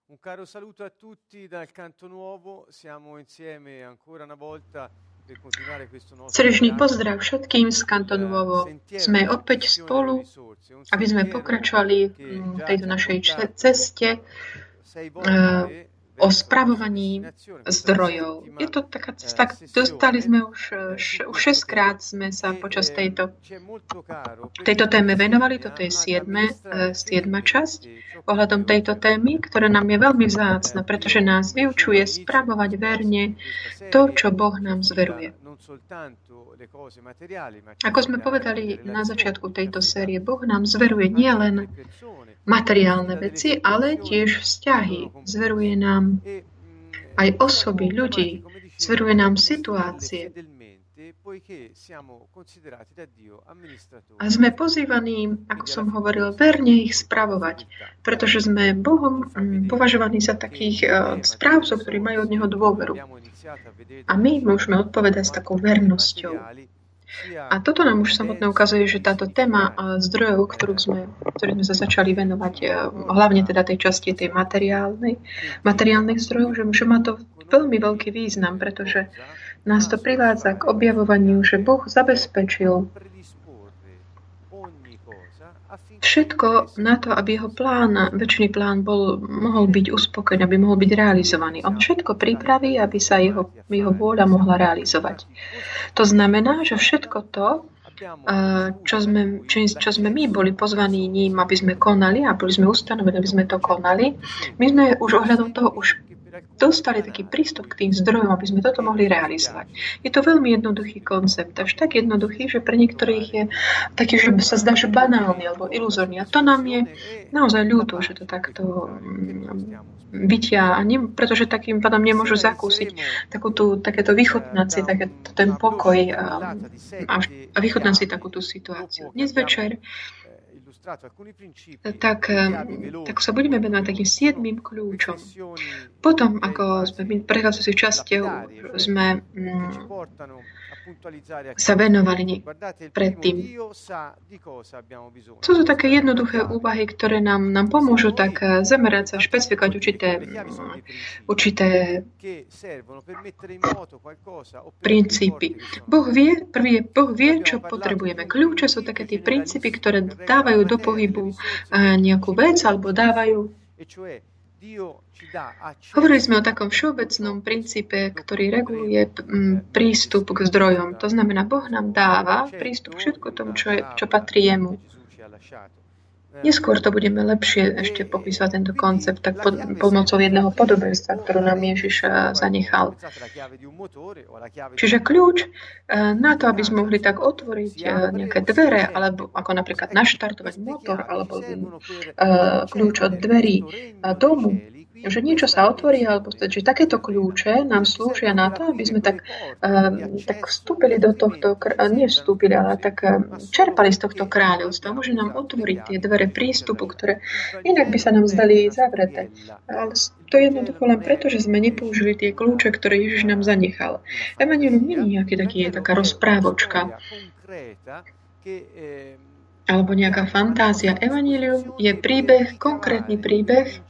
Un caro saluto a tutti dal Canto Nuovo, siamo insieme ancora una volta per continuare questo nostro Srdečný pozdrav všetkým z Kantonovo. Sme opäť spolu, aby sme pokračovali v tejto našej ceste o spravovaní zdrojov. Je to taká cesta, dostali sme už 6-krát sme sa počas tejto téme venovali, toto je 7. časť ohľadom tejto témy, ktorá nám je veľmi vzácna, pretože nás vyučuje spravovať verne to, čo Boh nám zveruje. Ako sme povedali na začiatku tejto série, Boh nám zveruje nielen materiálne veci, ale tiež vzťahy. Zveruje nám aj osoby, ľudí. Zveruje nám situácie. A sme pozývaní, ako som hovoril, verne ich spravovať, pretože sme Bohom považovaní za takých správcov, ktorí majú od Neho dôveru. A my môžeme odpovedať s takou vernosťou. A toto nám už samotné ukazuje, že táto téma zdrojov, ktorým sme sa začali venovať, hlavne teda tej časti tej materiálnych zdrojov, že má to veľmi veľký význam, pretože nás to privádza k objavovaniu, že Boh zabezpečil všetko na to, aby jeho večný plán mohol byť uspokojený, aby mohol byť realizovaný. On všetko pripraví, aby sa jeho vôľa mohla realizovať. To znamená, že všetko to, čo sme my boli pozvaní ním, aby sme konali a boli sme ustanovení, aby sme to konali, my sme už ohľadom toho už dostali taký prístup k tým zdrojom, aby sme toto mohli realizovať. Je to veľmi jednoduchý koncept, až tak jednoduchý, že pre niektorých je taký, že sa zdá, že banálny alebo iluzórny. A to nám je naozaj ľúto, že to takto vytia, pretože takým pádom nemôžu zakúsiť takéto vychutnať si ten pokoj a vychutnať si takúto situáciu. Dnes večer tak sa budeme venovať takým 7. kľúčom. Potom, ako sme v prechádzajúcich častiach sme sa venovali predtým. Sú to také jednoduché úvahy, ktoré nám pomôžu tak zamerať sa, špecifikovať určité princípy. Boh vie, čo potrebujeme. Kľúče sú také tie princípy, ktoré dávajú do pohybu nejakú vec alebo dávajú. Hovorili sme o takom všeobecnom princípe, ktorý reguluje prístup k zdrojom. To znamená, Boh nám dáva prístup k všetko tomu, čo patrí jemu. Neskôr to budeme lepšie ešte popísať tento koncept tak pomocou jedného podobenstva, ktorú nám Ježiš zanechal. Čiže kľúč na to, aby sme mohli tak otvoriť nejaké dvere, alebo ako napríklad naštartovať motor, alebo kľúč od dverí domu, že niečo sa otvorí, alebo že takéto kľúče nám slúžia na to, aby sme tak vstúpili do tohto, nevstúpili, ale tak čerpali z tohto kráľovstva. Môže nám otvoriť tie dvere prístupu, ktoré inak by sa nám zdali zavreté. Ale to je jednoducho len preto, že sme nepoužili tie kľúče, ktoré Ježiš nám zanechal. Evangelium nie je taká rozprávočka alebo nejaká fantázia. Evangelium je príbeh, konkrétny príbeh,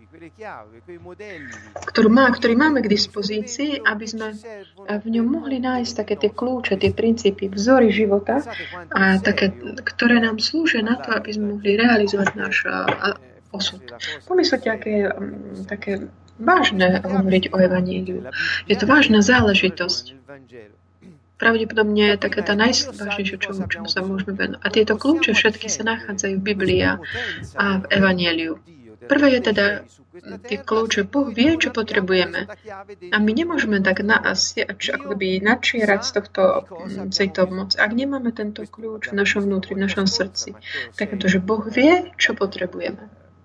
ktorý máme k dispozícii, aby sme v ňom mohli nájsť také tie kľúče, tie princípy, vzory života, a také, ktoré nám slúžia na to, aby sme mohli realizovať náš osud. Pomyslite, aké také vážne hovoriť o evaníliu. Je to vážna záležitosť. Pravdepodobne je taká tá najvážnejšia, čomu sa môžeme venovať. A tieto kľúče všetky sa nachádzajú v Biblii a v evaníliu. Prvé je teda tie kľúče. Boh vie, čo potrebujeme. A my nemôžeme tak načierať z tejto moci. Ak nemáme tento kľúč v našom vnútri, v našom srdci, tak je to, že Boh vie, čo potrebujeme.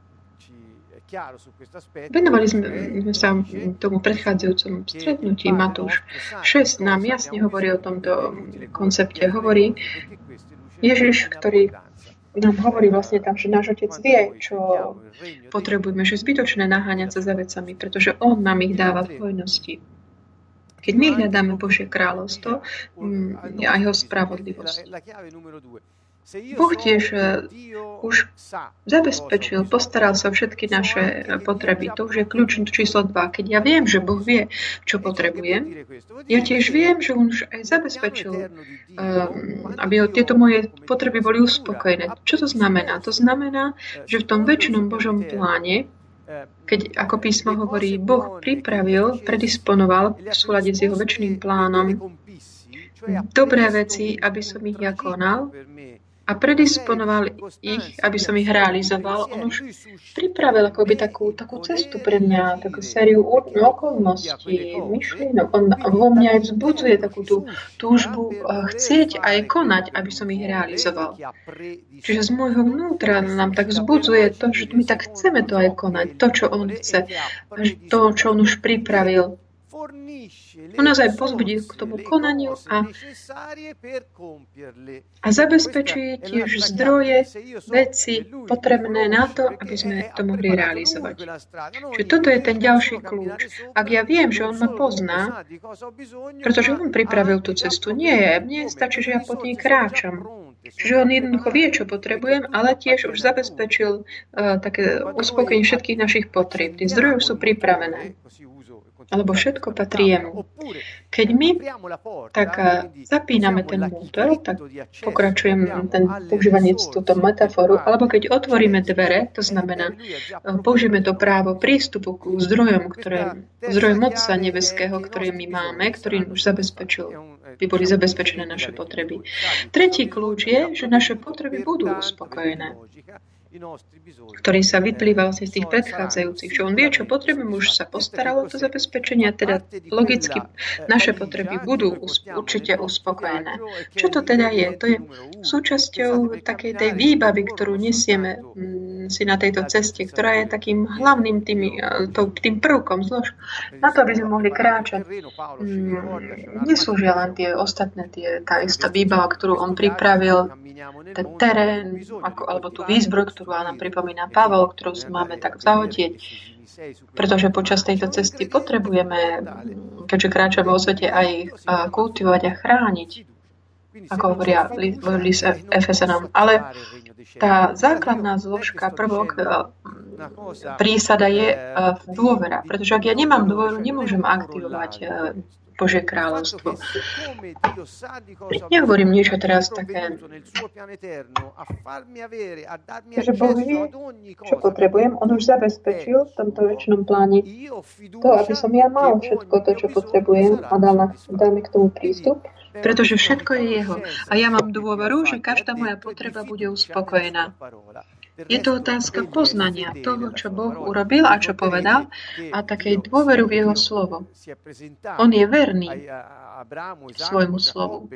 Venovali sme sa tomu predchádzajúcom stretnutí. Matúš 6 nám jasne hovorí o tomto koncepte. Hovorí Ježiš, ktorý nám hovorí vlastne tam, že náš Otec vie, čo potrebujeme, že zbytočné naháňať sa za vecami, pretože On nám ich dáva v hojnosti. Keď my hľadáme Božie kráľovstvo a jeho spravodlivosť. Boh tiež už zabezpečil, postaral sa o všetky naše potreby. To už je kľúč číslo 2. Keď ja viem, že Boh vie, čo potrebujem, ja tiež viem, že on už aj zabezpečil, aby tieto moje potreby boli uspokojené. Čo to znamená? To znamená, že v tom väčšinom Božom pláne, keď, ako písmo hovorí, Boh pripravil, predisponoval v súlade s jeho väčšným plánom dobré veci, aby som ich ja konal, a predisponoval ich, aby som ich realizoval. On už pripravil akoby takú cestu pre mňa, takú sériu okolností, myšlienok. On vo mňa aj vzbudzuje takú tú túžbu chcieť aj konať, aby som ich realizoval. Čiže z môjho vnútra nám tak vzbudzuje to, že my tak chceme to aj konať, to, čo on chce, to, čo on už pripravil. On nás aj pozbudí k tomu konaniu a zabezpečuje tiež zdroje, veci potrebné na to, aby sme to mohli realizovať. Čiže toto je ten ďalší kľúč. Ak ja viem, že on ma pozná, pretože on pripravil tú cestu, mne stačí, že ja po nej kráčam. Čiže on jednoducho vie, čo potrebujem, ale tiež už zabezpečil také uspokojenie všetkých našich potrieb. Tie zdroje sú pripravené. Alebo všetko patrí jemu. Keď my tak zapíname ten motor, tak pokračujem používanie túto metaforu, alebo keď otvoríme dvere, to znamená, použijeme to právo prístupu k zdrojom Otca nebeského, ktoré my máme, ktorý už zabezpečil, by boli zabezpečené naše potreby. Tretí kľúč je, že naše potreby budú uspokojené, ktorý sa vyplýval z tých predchádzajúcich. Čo on vie, čo potrebujem, už sa postaralo to zabezpečenie, a teda logicky naše potreby budú určite uspokojené. Čo to teda je? To je súčasťou takej tej výbavy, ktorú nesieme si na tejto ceste, ktorá je takým hlavným tým prvkom zlož. Na to, aby sme mohli kráčať, neslúžia len tie ostatné, tá istá výbava, ktorú on pripravil, ten terén, alebo tú výzbroj, ktorú nám pripomína Pavol, ktorú si máme tak zahodieť. Pretože počas tejto cesty potrebujeme, keďže kráčame vo svete, aj kultivovať a chrániť, ako hovoria list Efezanom. Ale tá základná zložka, prvok, prísada je dôvera. Pretože ak ja nemám dôveru, nemôžem aktivovať Božie kráľovstvo. Nehovorím niečo teraz také, že Boh vie, čo potrebujem. On už zabezpečil v tomto väčšinom pláne to, aby som ja mal všetko to, čo potrebujem a dal mi k tomu prístup, pretože všetko je jeho. A ja mám dôveru, že každá moja potreba bude uspokojená. Je to otázka poznania toho, čo Boh urobil a čo povedal, a takej dôveru v jeho slovo. On je verný svojmu slovu.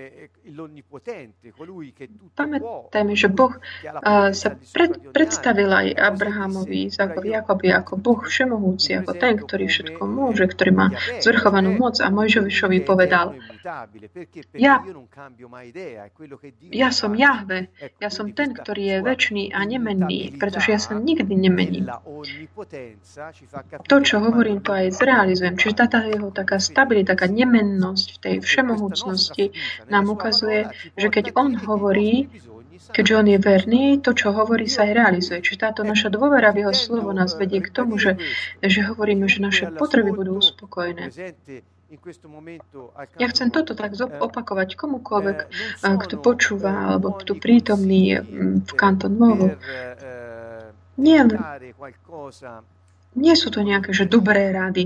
Pamätajme, že Boh sa predstavil aj Abrahamovi, Jakobi ako Boh všemohúci, ako ten, ktorý všetko môže, ktorý má zvrchovanú moc, a Mojžišovi povedal: Ja som Jahve, ja som ten, ktorý je večný a nemenný, pretože ja sa nikdy nemením. To, čo hovorím, to aj zrealizujem. Čiže tá jeho taká stabilita, taká nemennosť v tej všemohúcnosti nám ukazuje, že keď on hovorí, keďže on je verný, to, čo hovorí, sa aj realizuje. Čiže táto naša dôvera v jeho slovo nás vedie k tomu, že hovoríme, že naše potreby budú uspokojené. Ja chcem toto tak opakovať komukoľvek, kto počúva, alebo kto prítomný v Canton Nuovo. Nie sú to nejaké že dobré rady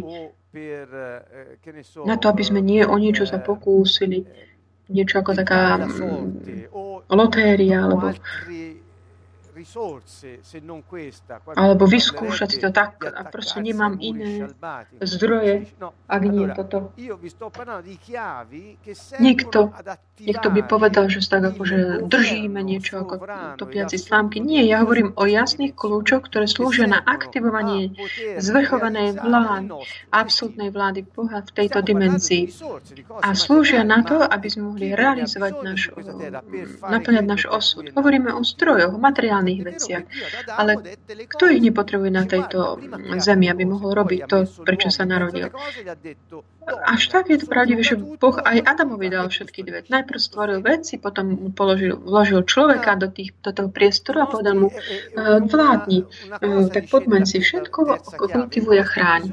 na to, aby sme o niečo sa pokúsili. Niečo ako taká lotéria, alebo vyskúšať si to tak, a proste nemám iné zdroje, ak nie toto. Niekto by povedal, že tak akože držíme niečo ako topiaci slámky. Nie, ja hovorím o jasných kľúčoch, ktoré slúžia na aktivovanie zvrchovanej vlády, absolútnej vlády Boha v tejto dimenzii. A slúžia na to, aby sme mohli realizovať naplňať náš osud. Hovoríme o zdrojoch, o materiálnych malých veciach. Ale kto ich nepotrebuje na tejto zemi, aby mohol robiť to, prečo sa narodil? Až tak je to pravdivé, že Boh aj Adamovi dal všetky dve. Najprv stvoril veci, potom vložil človeka do toho priestoru a povedal mu, vládni, tak podmeň si všetko, kultivuj a chráň.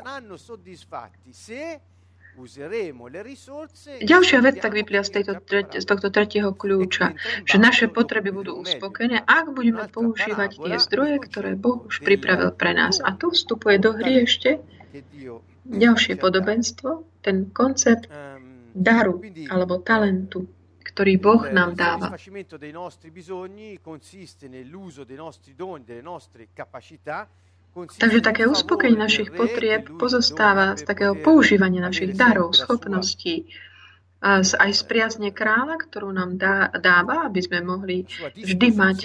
Ďalšia vec tak vyplia z tohto tretieho kľúča, že naše potreby budú uspokojené, ak budeme používať tie zdroje, ktoré Boh už pripravil pre nás. A tu vstupuje do hry ešte ďalšie podobenstvo, ten koncept daru alebo talentu, ktorý Boh nám dáva. Takže také uspokojenie našich potrieb pozostáva z takého používania našich darov, schopností, aj z priazne kráľa, ktorú nám dáva, aby sme mohli vždy mať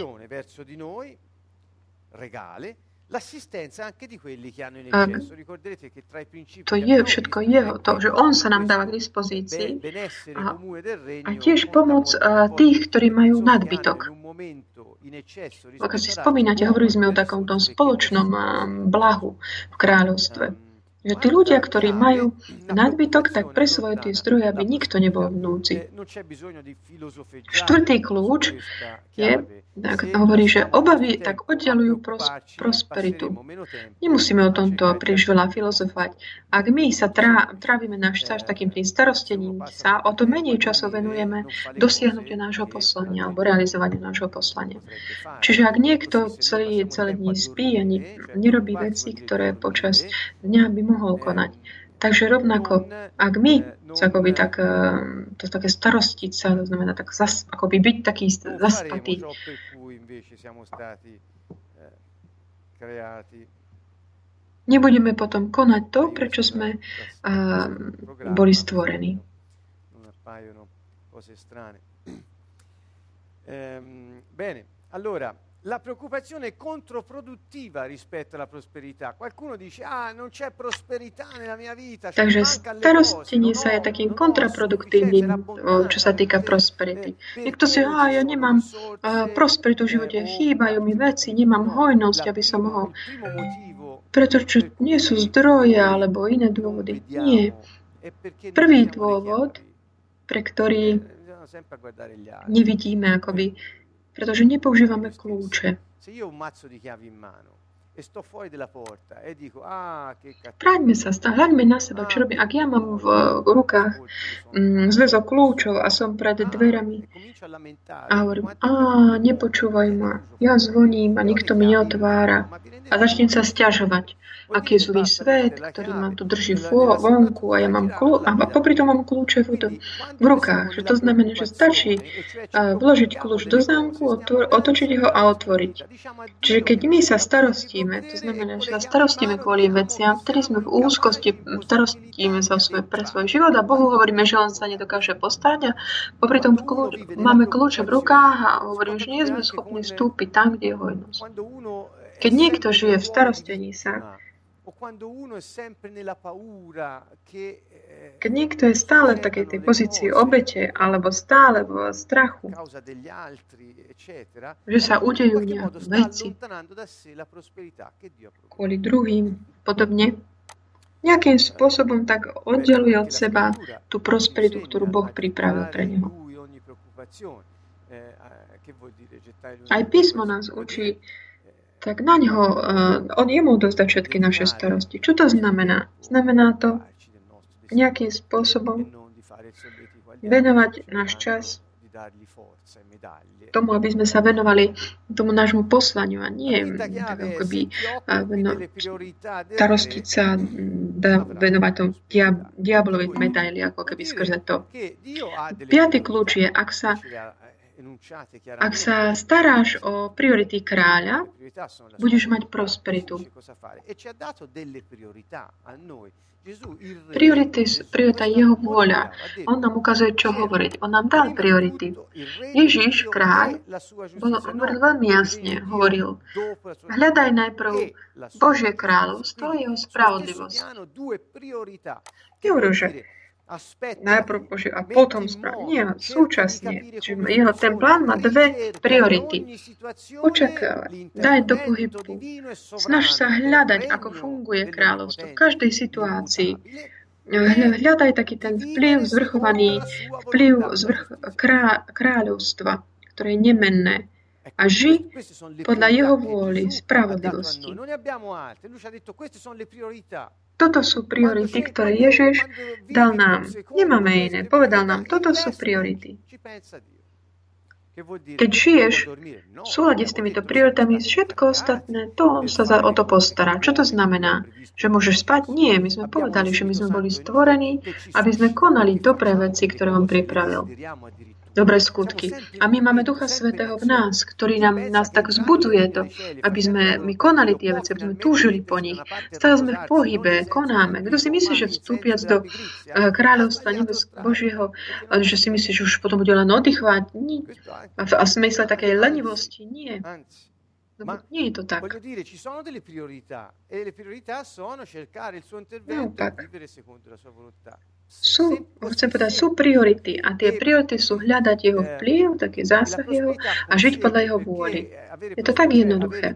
to je všetko jeho, to, že on sa nám dáva k dispozícii a tiež pomoc tých, ktorí majú nadbytok. Ak si spomínate, hovorili sme o takomto spoločnom blahu v kráľovstve. Že tí ľudia, ktorí majú nadbytok, tak presvojú tie zdroje, aby nikto nebol v núdzi. Štvrtý kľúč je, tak hovorí, že obavy tak oddialujú prosperitu. Nemusíme o tomto príliš veľa filozofovať. Ak my sa trávime náš čas takým tým starostením sa, o to menej času venujeme dosiahnutiu nášho poslania alebo realizovaniu nášho poslania. Čiže ak niekto celé dni spí a nerobí veci, ktoré počas dňa by mohol konať. Takže rovnako, ak my akoby tak, to také starostiť sa, to znamená tak akoby byť taký zaspatý. Nebudeme potom konať to, prečo sme boli stvorení. Bene, allora la preoccupazione è controproduttiva rispetto alla prosperità. Qualcuno dice, non c'è prosperità nella mia vita. Takže starostenie sa je takým kontraproduktívnym, čo sa týka prosperity. Niekto si, ja nemám prosperitu v živote, chýbajú mi veci, nemám hojnosť, aby som mohol. Pretože nie sú zdroje alebo iné dôvody. Nie. Prvý dôvod, pre ktorý nevidíme akoby, pretože nepoužívame kľúče. Vráťme sa, hľaďme na seba, čo robím. Ak ja mám v rukách zväzok kľúčov a som pred dverami a hovorím, nepočúvaj ma, ja zvoním a nikto mi neotvára a začnem sa sťažovať, aký je zlý svet, ktorý ma tu drží vonku a ja mám a popri tom mám kľúče v rukách. Že to znamená, že stačí vložiť kľúč do zámku, otočiť ho a otvoriť. Čiže keď my sa starostíme, to znamená, že sa starostíme kvôli veciam, vtedy sme v úzkosti, starostíme sa pre svoj život a Bohu hovoríme, že on sa nedokáže postarať a popri tom máme kľúče v rukách a hovoríme, že nie sme schopní vstúpiť tam, kde je hojnosť. Keď niekto žije v starostení sa, keď niekto je stále v takej tej pozícii obete alebo stále v strachu, že sa udejú nejaké veci kvôli druhým, podobne, nejakým spôsobom tak oddeluje od seba tú prosperitu, ktorú Boh pripravil pre neho. Aj písmo nás učí, tak na ňo, on jemu dozdá všetky naše starosti. Čo to znamená? Znamená to nejakým spôsobom venovať náš čas tomu, aby sme sa venovali tomu nášmu poslaniu a nie tak akoby starostiť sa, venovať tomu diablovi medaili, ako keby skrze to. Piatý kľúč je, ak sa staráš o priority kráľa, budeš mať prosperitu. Priorita je jeho vôľa. On nám ukazuje, čo hovoriť. On nám dal priority. Ježiš, kráľ, hovoril veľmi jasne. Hovoril, hľadaj najprv Božie kráľovstvo a jeho spravodlivosť. Nehovoril, že najprv Boží a potom správu. Nie, súčasne. Jeho ten plán má dve priority. Očakávať, daj do pohybu. Snaž sa hľadať, ako funguje kráľovstvo v každej situácii. Hľadaj taký ten vplyv zvrchovaný, kráľovstva, ktoré je nemenné. A ži podľa jeho vôly, spravodlivosti. Toto sú priority, ktoré Ježiš dal nám. Nemáme iné. Povedal nám, toto sú priority. Keď žiješ v súlade s týmito prioritami, všetko ostatné, to on sa o to postará. Čo to znamená? Že môžeš spať? Nie. My sme povedali, že my sme boli stvorení, aby sme konali dobré veci, ktoré on pripravil. Dobré skutky. A my máme Ducha Svätého v nás, ktorý nás tak vzbudzuje to, aby sme my konali tie veci, aby sme túžili po nich. Stále sme v pohybe, konáme. Kto si myslí, že vstúpiac do kráľovstva Božieho, že si myslí, že už potom bude len oddychovať? Nie. A v smysle takej lenivosti? Nie. Nie je to tak. Sú priority a tie priority sú hľadať jeho vplyv, taký zásah jeho a žiť podľa jeho vôly. Je to tak jednoduché.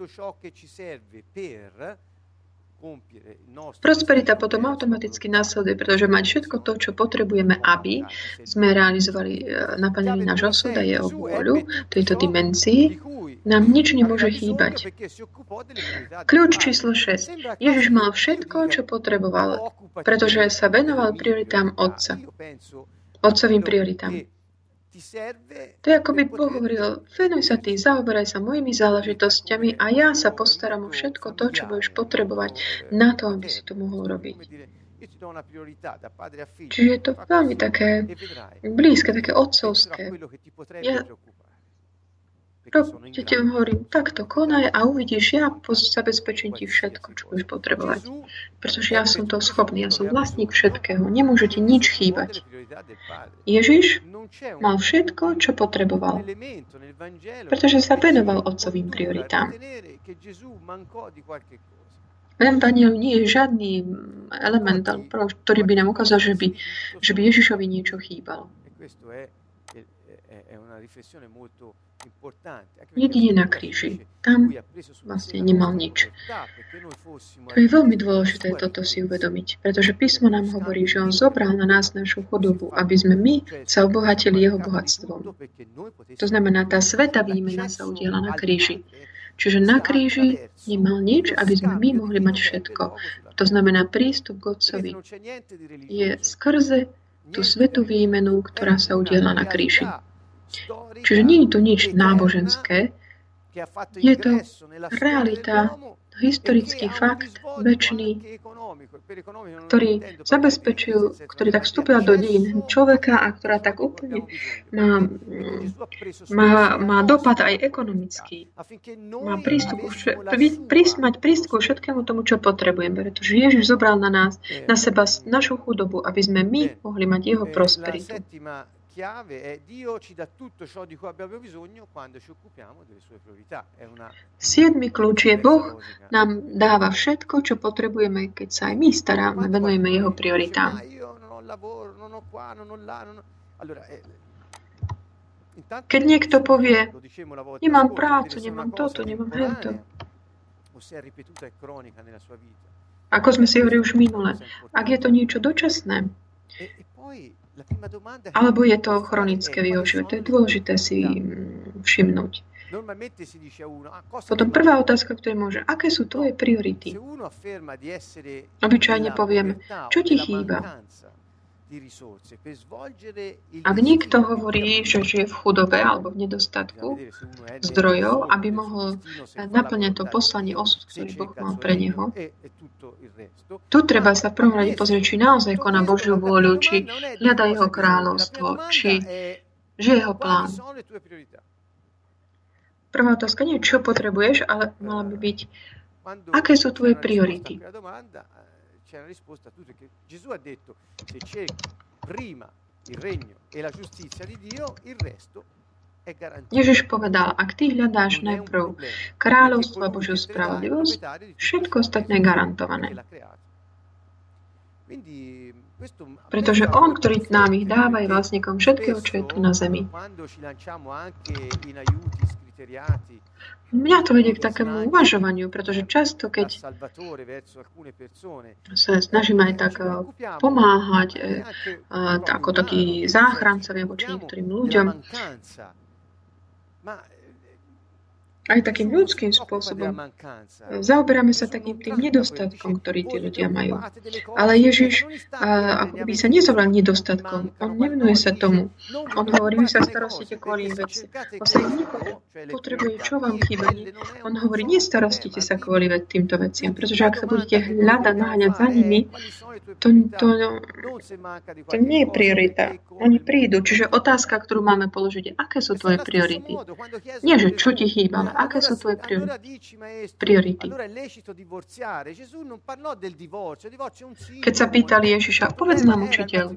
Prosperita potom automaticky následuje, pretože mať všetko to, čo potrebujeme, aby sme realizovali, naplnili náš osud a jeho vôľu v tejto dimenzii, nám nič nemôže chýbať. Kľúč číslo 6. Ježiš mal všetko, čo potreboval, pretože sa venoval prioritám Otca. Otcovým prioritám. To je ako by Boh hovoril, venuj sa ty, zaoberaj sa mojimi záležitosťami a ja sa postaram o všetko to, čo budeš potrebovať na to, aby si to mohol robiť. Čiže je to veľmi také blízke, také otcovské. Ja ti hovorím, takto konaj a uvidíš, ja zabezpečím ti všetko, čo budeš potrebovať. Pretože ja som to schopný, ja som vlastník všetkého, nemôže ti nič chýbať. Ježiš mal všetko, čo potreboval, pretože sa venoval otcovým prioritám. V Evangeliu nie je žiadny element, ktorý by nám ukázal, že by Ježišovi niečo chýbalo. Jedine na kríži. Tam vlastne nemal nič. To je veľmi dôležité toto si uvedomiť, pretože písmo nám hovorí, že on zobral na nás našu chudobu, aby sme my sa obohatili jeho bohatstvom. To znamená, tá svätá výmena sa udiala na kríži. Čiže na kríži nemal nič, aby sme my mohli mať všetko. To znamená, prístup k Otcovi je skrze tú svätú výmenu, ktorá sa udiala na kríži. Čiže nie je to nič náboženské, je to realita, historický fakt, večný, ktorý zabezpečil, ktorý tak vstúpil do dejín človeka a ktorá tak úplne má dopad aj ekonomický. Má mať prístup ku všetkému tomu, čo potrebujeme, pretože Ježiš zobral na seba našu chudobu, aby sme my mohli mať jeho prosperitu. Siedmy kľúč je, Boh nám dáva všetko, čo potrebujeme, keď sa aj my staráme, venujeme jeho prioritám. Keď niekto povie, nemám prácu, nemám toto, nemám hento. Ako sme si hovorili už minule, ak je to niečo dočasné, alebo je to chronické v jeho živote. To je dôležité si všimnúť. Potom prvá otázka, ktorá môže, aké sú tvoje priority? Obyčajne povieme, čo ti chýba? Ak niekto hovorí, že žije v chudobe alebo v nedostatku zdrojov, aby mohol naplňať to poslanie osud, ktorý Boh mal pre neho, tu treba sa v prvom rade pozrieť, či naozaj koná Božiu vôľu, či hľadá jeho kráľovstvo, či žije jeho plán. Prvá otázka nie je, čo potrebuješ, ale mala by byť, aké sú tvoje priority. C'è una risposta a tutto, che Gesù ha detto, se cerchi prima il regno e la giustizia di Dio, il resto è garantito. Ježiš povedal, ak ty hľadáš najprv kráľovstvo a Božiu spravodlivosť, všetko ostatné je garantované. Pretože on, ktorý nám ich dáva, je vlastníkom všetkého, čo je tu na zemi. Mňa to vedie k takému uvažovaniu, pretože často, keď sa snažíme aj tak pomáhať ako takí záchrancovia voči niektorým ľuďom, aj takým ľudským spôsobom. Zaoberáme sa takým tým nedostatkom, ktorý tí ľudia majú. Ale Ježiš ako by sa nezoval nedostatkom. On nevenuje sa tomu. On hovorí, vy sa starostíte kvôli veci. Potrebuje, čo vám chýba. On hovorí, nestarostite sa kvôli týmto veciam. Pretože ak sa budete hľadať, naháňať za nimi, to nie je priorita. Oni prídu. Čiže otázka, ktorú máme položiť, je, aké sú tvoje priority? Nie, že čo ti chýba, ale aké sú tvoje priority? Keď sa pýtali Ježiša, povedz nám, učiteľ,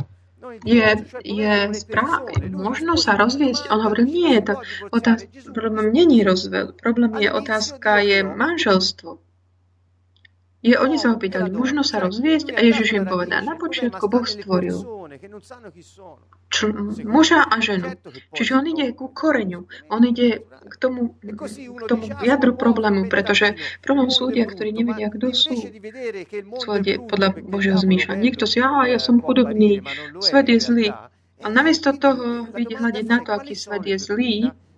možno sa rozviesť? On hovoril, nie, problém nie je rozvod. Problém je otázka, je manželstvo. Oni sa ho pýtali, možno sa rozviesť? A Ježiš im povedal, na počiatku Boh stvoril muža a ženu. Čiže on ide ku koreňu. On ide k tomu jadru problému, pretože problém sú ľudia, ktorí nevedia, kto sú. Podľa Božieho zmýšľania. Niekto si, ja som chudobný, svet je zlý. A namiesto toho vidieť hľadiť na to, aký svet je zlý,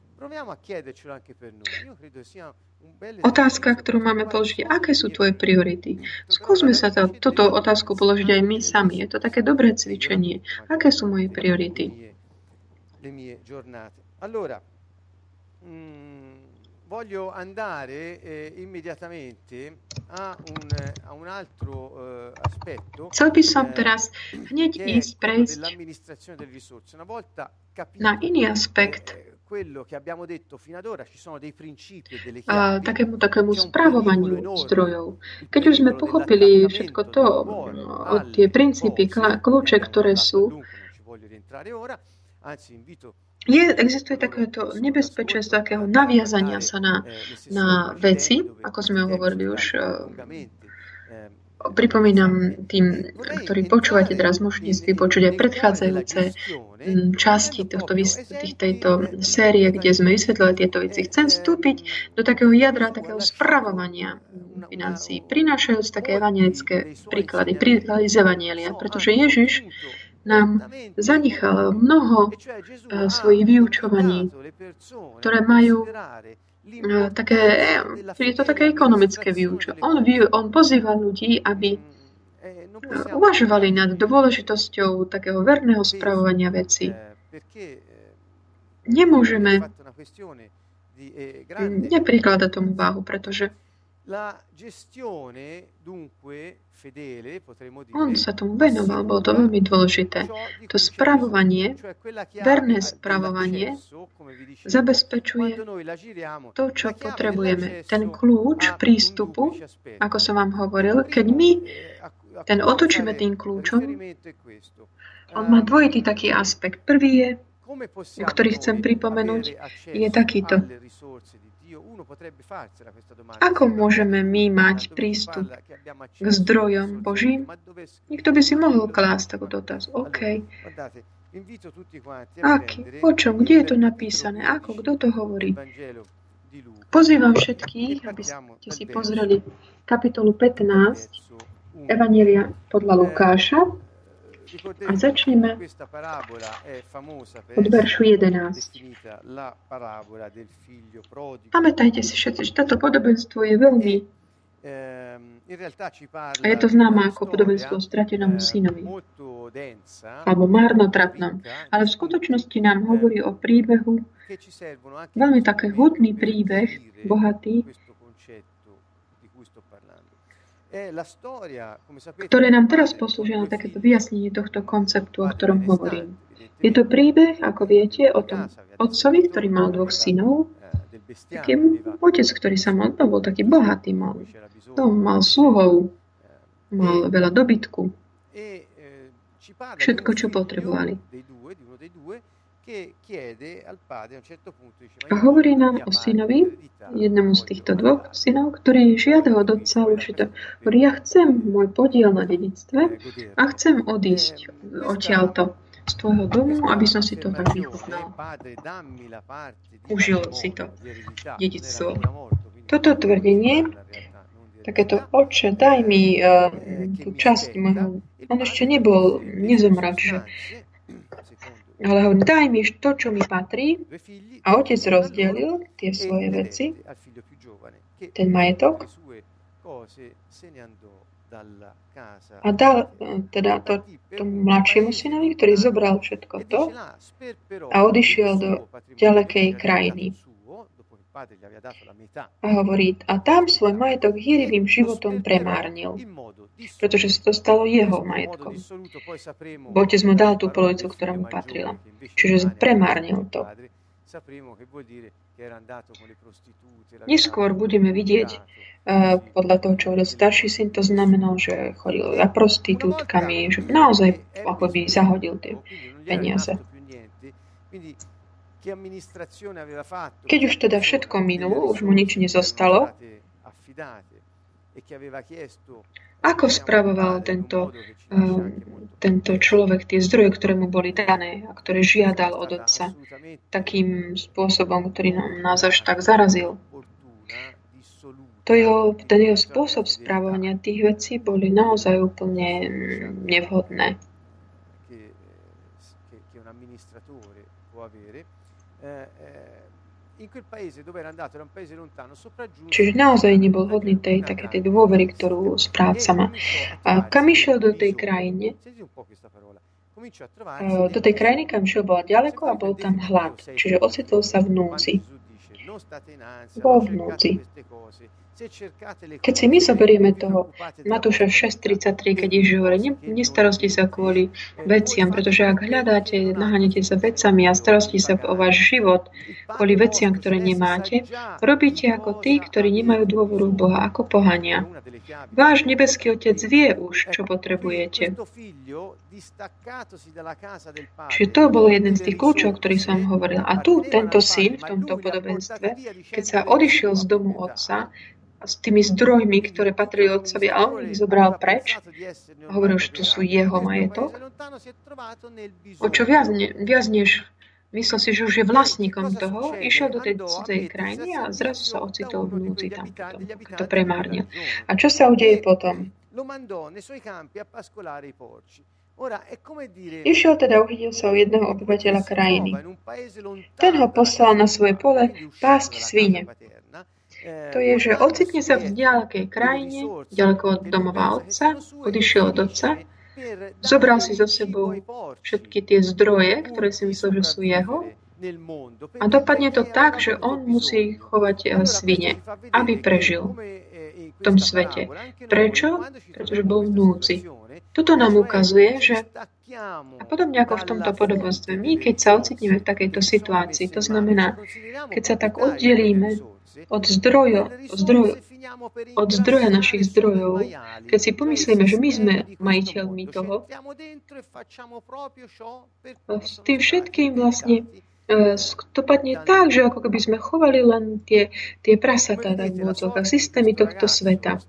otázka, ktorú máme položiť, aké sú tvoje priority? Skúsme sa túto otázku položiť aj my sami. Je to také dobré cvičenie. Aké sú moje priority? Voglio andare immediatamente a un altro aspetto. Chcel by som teraz hneď prejsť na iný aspekt, takému spravovaniu zdrojov. Keď už sme pochopili všetko to, tie princípy, kľúče, ktoré sú, existuje takéto nebezpečenstvo takého naviazania sa na veci, ako sme hovorili už. Pripomínam tým, ktorí počúvate teraz, môžete si vypočuť aj predchádzajúce časti tejto série, kde sme vysvetlili tieto veci. Chcem vstúpiť do takého jadra, takého spravovania financií, prinášajúc také evanjelické príklady z evanjelia, pretože Ježiš nám zanechal mnoho svojich vyučovaní, ktoré majú je to také ekonomické vyučovanie. On pozýva ľudí, aby uvažovali nad dôležitosťou takého verného spravovania vecí. Nemôžeme neprikladať tomu váhu, pretože on sa tomu venoval, bolo to veľmi dôležité. To spravovanie, verné spravovanie, zabezpečuje to, čo potrebujeme. Ten kľúč prístupu, ako som vám hovoril, keď my ten otočíme tým kľúčom, on má dvojitý taký aspekt. Prvý je, ktorý chcem pripomenúť, je takýto. Ako môžeme my mať prístup k zdrojom Božím? Niekto by si mohol klásť takúto otázku. OK. O čom? Kde je to napísané? Ako? Kto to hovorí? Pozývam všetkých, aby ste si pozreli kapitolu 15 Evanjelia podľa Lukáša a začneme od veršu 11. Pamätajte si všetci, že toto podobenstvo je veľmi a je to známe ako podobenstvo o stratenom synovi alebo márnotratnom. Ale v skutočnosti nám hovorí o príbehu, veľmi taký hutný príbeh, bohatý, ktoré nám teraz poslúžia na takéto vyjasnenie tohto konceptu, o ktorom hovorím. Je to príbeh, ako viete, o tom otcovi, ktorý mal dvoch synov. Taký otec, ktorý sa mal, to bol taký bohatý, mal sluhov, mal veľa dobytku. Všetko, čo potrebovali. A hovorí nám o synovi, jednému z týchto dvoch synov, ktorý žiada od otca určite. Hovorí, ja chcem môj podiel na dedičstve a chcem odísť odtiaľto z tvojho domu, aby som si to tak vychutnal. Užil si to dedičstvo. Toto tvrdenie, takéto oče, daj mi tú časť môjho, on ešte nezomrel, čiže ale hovorí, daj mi to, čo mi patrí. A otec rozdelil tie svoje veci, ten majetok, a dal teda tomu mladšiemu synovi, ktorý zobral všetko to a odišiel do ďalekej krajiny. A hovorí, a tam svoj majetok hýrivým životom premárnil, pretože sa to stalo jeho majetkom. Bo otec mu dal tú polovicu, ktorá mu patrila. Čiže premárnil to. Neskôr budeme vidieť, podľa toho, čo hovoril starší syn, to znamenalo, že chodil za prostitútkami, že naozaj akoby zahodil tie peniaze. Keď už teda všetko minulo, už mu nič nezostalo, ako spravoval tento človek tie zdroje, ktoré mu boli dané a ktoré žiadal od otca takým spôsobom, ktorý nás až tak zarazil? Ten jeho spôsob správania tých vecí boli naozaj úplne nevhodné. Čiže naozaj nebol hodný tej dôvery, ktorú správca má. A kam išiel do tej krajiny? Do tej krajiny, kam išiel, bola ďaleko a bol tam hlad. Čiže ocitol sa v núdzi. Bol v núdzi. Keď si my zoberieme toho Matúša 6.33, keď Ježiš hovorí, nestarosti sa kvôli veciam, pretože ak hľadáte, naháňate sa vecami a starosti sa o váš život kvôli veciam, ktoré nemáte, robíte ako tí, ktorí nemajú dôveru v Boha, ako pohania. Váš nebeský Otec vie už, čo potrebujete. Čiže to bol jeden z tých kľúčov, ktorý som hovoril. A tu tento syn v tomto podobenstve, keď sa odišiel z domu otca, s tými zdrojmi, ktoré patrili otcovi, a on ich zobral preč. A hovoril, že tu sú jeho majetok. O čo viac než myslel si, že už je vlastníkom toho, išiel do tej cudzej krajiny a zrazu sa ocitol v núdzi tam potom, to premárnil. A čo sa udeje potom? Išiel teda, uchytil sa o jedného obyvateľa krajiny. Ten ho poslal na svoje pole pásť svine. To je, že ocitne sa v ďalekej krajine, ďaleko od domova otca, odišiel od otca, zobral si so sebou všetky tie zdroje, ktoré si myslel, že sú jeho, a dopadne to tak, že on musí chovať svine, aby prežil v tom svete. Prečo? Pretože bol v núdzi. Toto nám ukazuje, že a podobne ako v tomto podobenstve, my, keď sa ocitneme v takejto situácii, to znamená, keď sa tak oddelíme od zdroja našich zdrojov, keď si pomyslíme, že my sme majiteľmi toho, s tým všetkým vlastne dopadne tak, že ako keby sme chovali len tie prasatá, tak v odzokách, systémy tohto sveta.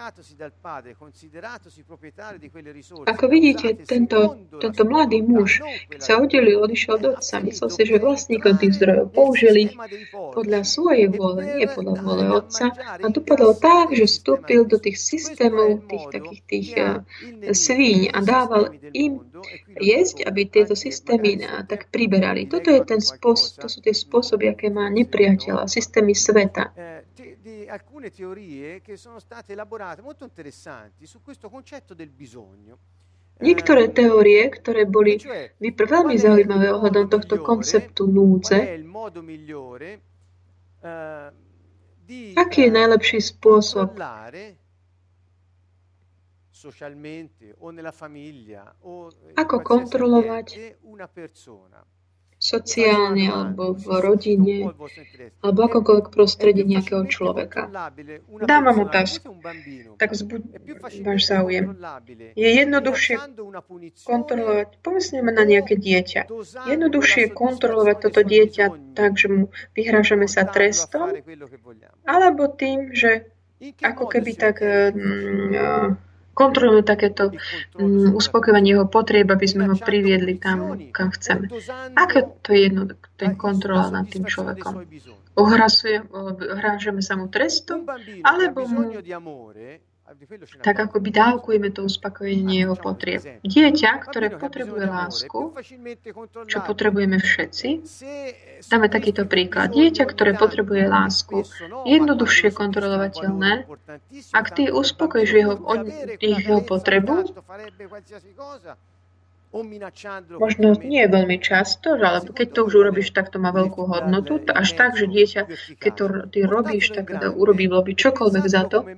Ako vidíte, tento mladý muž, keď sa oddelil, odišiel do otca, myslel si, že vlastníkom tých zdrojov použil ich podľa svojej vôle, nie podľa vôle otca, a dopadlo tak, že vstúpil do tých systémov, tých svíň a dával im jesť, aby tieto systémy tak priberali. Toto je to sú tie spôsoby, aké má nepriateľ a systémy sveta. Alcune teorie che sono state elaborate molto interessanti su questo concetto del bisogno. Niektoré teórie, ktoré boli veľmi zaujímavé ohľadom tohto konceptu núdze, aký je najlepší spôsob ako kontrolovať sociálne, alebo v rodine, alebo akokoľvek prostredí nejakého človeka. Dávam otázku, tak váš záujem. Je jednoduchšie kontrolovať, povedzme na nejaké dieťa, jednoduchšie kontrolovať toto dieťa tak, že mu vyhrážame sa trestom, alebo tým, že ako keby tak kontrolujeme takéto uspokojenie jeho potrieb, aby sme ho priviedli tam, kam chceme. Ako to je ten kontrola nad tým človekom? Hrážeme sa mu trestom, alebo mu tak akoby dávkujeme to uspokojenie jeho potrieb. Dieťa, ktoré potrebuje lásku, čo potrebujeme všetci, dáme takýto príklad. Dieťa, ktoré potrebuje lásku, jednoduchšie kontrolovateľné, ak ty uspokojíš jeho potrebu, možno nie je veľmi často, ale keď to už urobíš, tak to má veľkú hodnotu. Až tak, že dieťa, keď to ty robíš, tak urobí čokoľvek za to.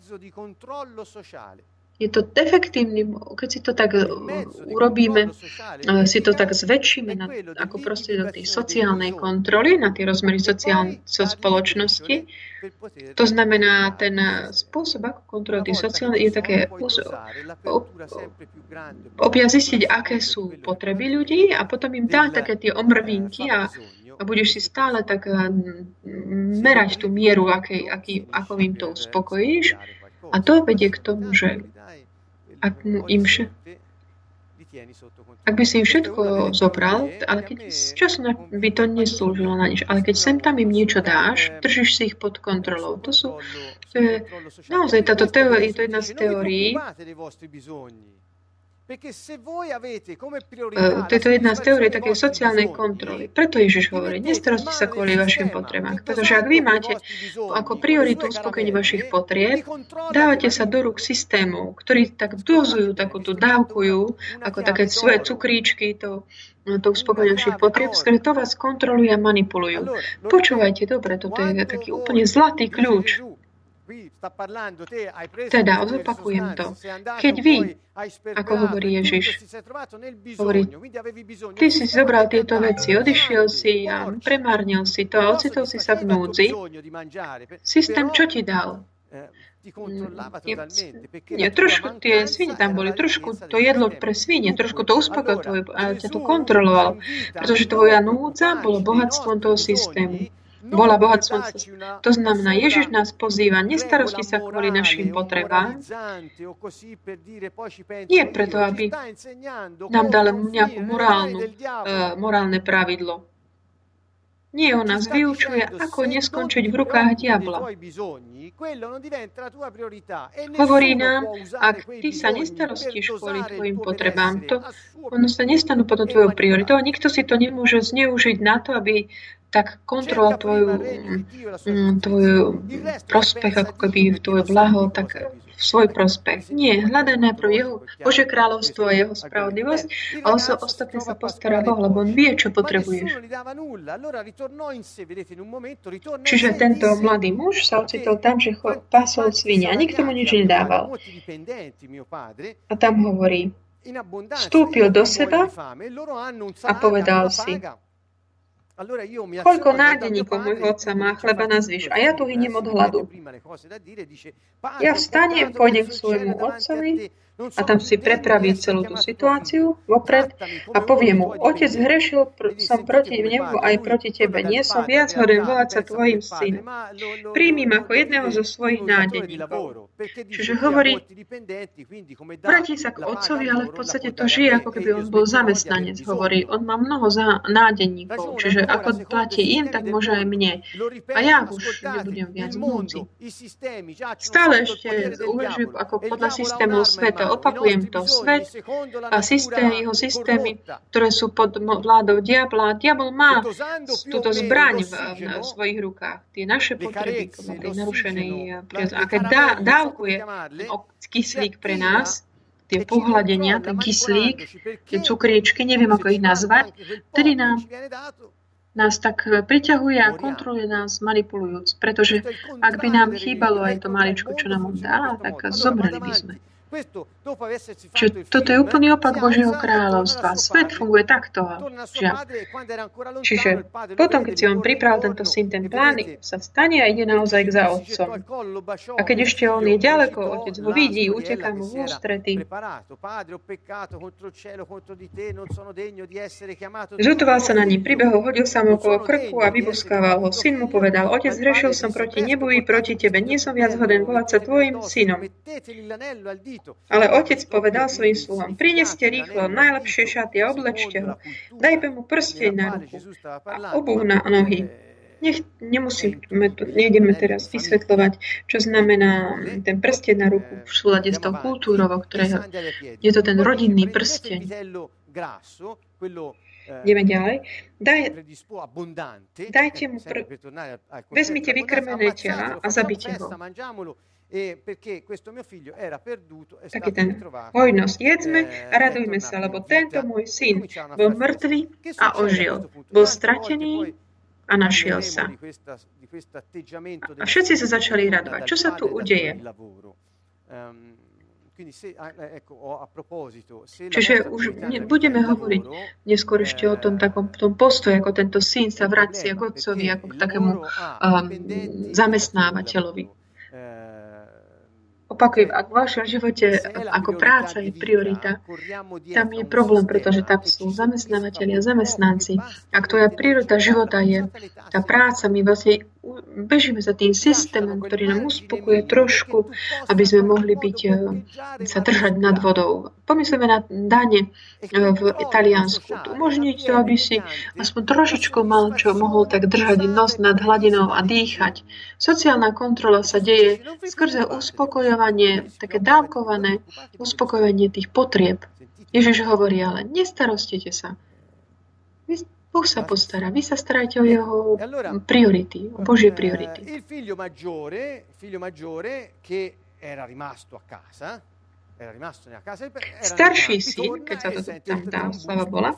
Je to efektívny, keď si to tak urobíme, si to tak zväčšíme ako prostriedok tej sociálnej kontroly, na tie rozmery spoločnosti. To znamená, ten spôsob, ako kontrolovať tie sociálne, je také zistiť, aké sú potreby ľudí a potom im dá také tie omrvinky a budeš si stále tak merať tú mieru, ako im to uspokojíš. A to vedie k tomu, že ak by si im všetko zobral, ale keď z času by to neslúžilo na nič, ale keď sem tam im niečo dáš, držíš si ich pod kontrolou. To je naozaj táto teória, je to jedna z teórií. To je jedna z teórií takej sociálnej kontroly. Preto Ježiš hovorí, nestarosti sa kvôli vašim potrebám. Pretože ak vy máte ako prioritu uspokojenie vašich potrieb, dávate sa do rúk systémov, ktorí tak dozujú, takúto dávkujú, ako také svoje cukríčky, to uspokojenie vašich potrieb, skôr to vás kontrolujú a manipulujú. Počúvajte dobre, toto je taký úplne zlatý kľúč. Teda, zopakujem to. Keď vy, ako hovorí Ježiš, hovorí, ty si zobral tieto veci, odišiel si a premárnil si to a ocitol si sa v núdzi, systém čo ti dal? Trošku tie svine tam boli, trošku to jedlo pre svine, trošku to uspokojilo a ťa to kontroloval, pretože tvoja núdza bolo bohatstvom toho systému. Bola bohatstvom. To znamená, Ježiš nás pozýva, nestarosti sa kvôli našim potrebám. Nie preto, aby nám dal nejakú morálne pravidlo. Nie, on nás vyučuje, ako neskončiť v rukách diabla. Hovorí nám, ak ty sa nestarostíš kvôli tvojim potrebám, ono sa nestanú potom tvojou prioritou a nikto si to nemôže zneužiť na to, aby tak kontroloval tvoj prospech, ako keby tvoj blaho, tak v svoj prospech. Nie, hľadaj najprv jeho Božie kráľovstvo a jeho spravodlivosť a ostatné sa postará Boh, lebo on vie, čo potrebuješ. Čiže tento mladý muž sa ocitol tam, že pásol svine a nikto mu nič nedával. A tam hovorí, vstúpil do seba a povedal si, koľko nádeníkov môjho otca má chleba na zvyš a ja tu hyniem od hladu. Ja vstanem, pôjdem k svojmu otcovi a tam si prepraví celú tú situáciu vopred a povie mu, otec, hrešil som proti nebu aj proti tebe, nie som viac hoden volať sa tvojim synom. Príjmim ako jedného zo svojich nádeníkov. Čiže hovorí, vráti sa k otcovi, ale v podstate to žije, ako keby on bol zamestnanec. Hovorí, on má mnoho nádeníkov, čiže ako platí im, tak môže aj mne. A ja už nebudem viac múci. Stále ešte uvažujem ako podľa systémov sveta. Opakujem to. Svet a jeho systémy, ktoré sú pod vládou diabla. Diabol má túto zbraň v svojich rukách. Tie naše potreby, tej narušenej prirodzenosti. A keď dávkuje kyslík pre nás, tie pohľadenia, ten kyslík, tie cukričky, neviem, ako ich nazvať, tedy nás tak priťahuje a kontroluje nás manipulujúc. Pretože ak by nám chýbalo aj to maličko, čo nám on dá, tak zomreli by sme. Čiže toto je úplný opak Božieho kráľovstva. Svet funguje takto. Čiže potom, keď si on pripravil tento syn, ten plán sa stane a ide naozaj za otcom. A keď ešte on je ďaleko, otec ho vidí, uteká mu v ústrety. Zľutoval sa na ním, pribehol, hodil sa mu okolo krku a vyboskával ho. Syn mu povedal, otec, zhrešil som proti nebu i proti tebe, nie som viac hoden volať sa tvojim synom. Ale otec povedal svojim sluhom, prineste rýchlo najlepšie šaty a oblečte ho. Dajme mu prsteň na ruku a obuv na nohy. Nejdeme teraz vysvetľovať, čo znamená ten prsteň na ruku v súlade s tou kultúrou, ktorého je to ten rodinný prsteň. Ideme ďalej. Dajte mu vezmite vykrmené tela a zabite ho. Taký ten hojnosť. Jedzme a radujme sa, lebo tento môj syn bol mŕtvý a ožil. Bol stratený a našiel sa. A všetci sa začali radovať. Čo sa tu udeje? Čiže už budeme hovoriť neskôr ešte o tom takom tom postoji, ako tento syn sa vracia k otcovi, ako k takému zamestnávateľovi. Opakujem, ak v vašom živote ako práca je priorita, tam je problém, pretože tam sú zamestnávateľi a zamestnanci. Ak tvoja priorita života je tá práca, my vlastne bežíme za tým systémom, ktorý nám uspokuje trošku, aby sme mohli sa držať nad vodou. Pomyslíme na dane v Taliansku. Umožniť to, aby si aspoň trošičku mohol tak držať nos nad hladinou a dýchať. Sociálna kontrola sa deje skrze uspokojovanie, také dávkované uspokojovanie tých potrieb. Ježiš hovorí, ale nestarostite sa. Boh sa postará. Vy sa starajte o jeho priority, o Božie priority. Starší syn, keď sa to tam dá, sláva Bola,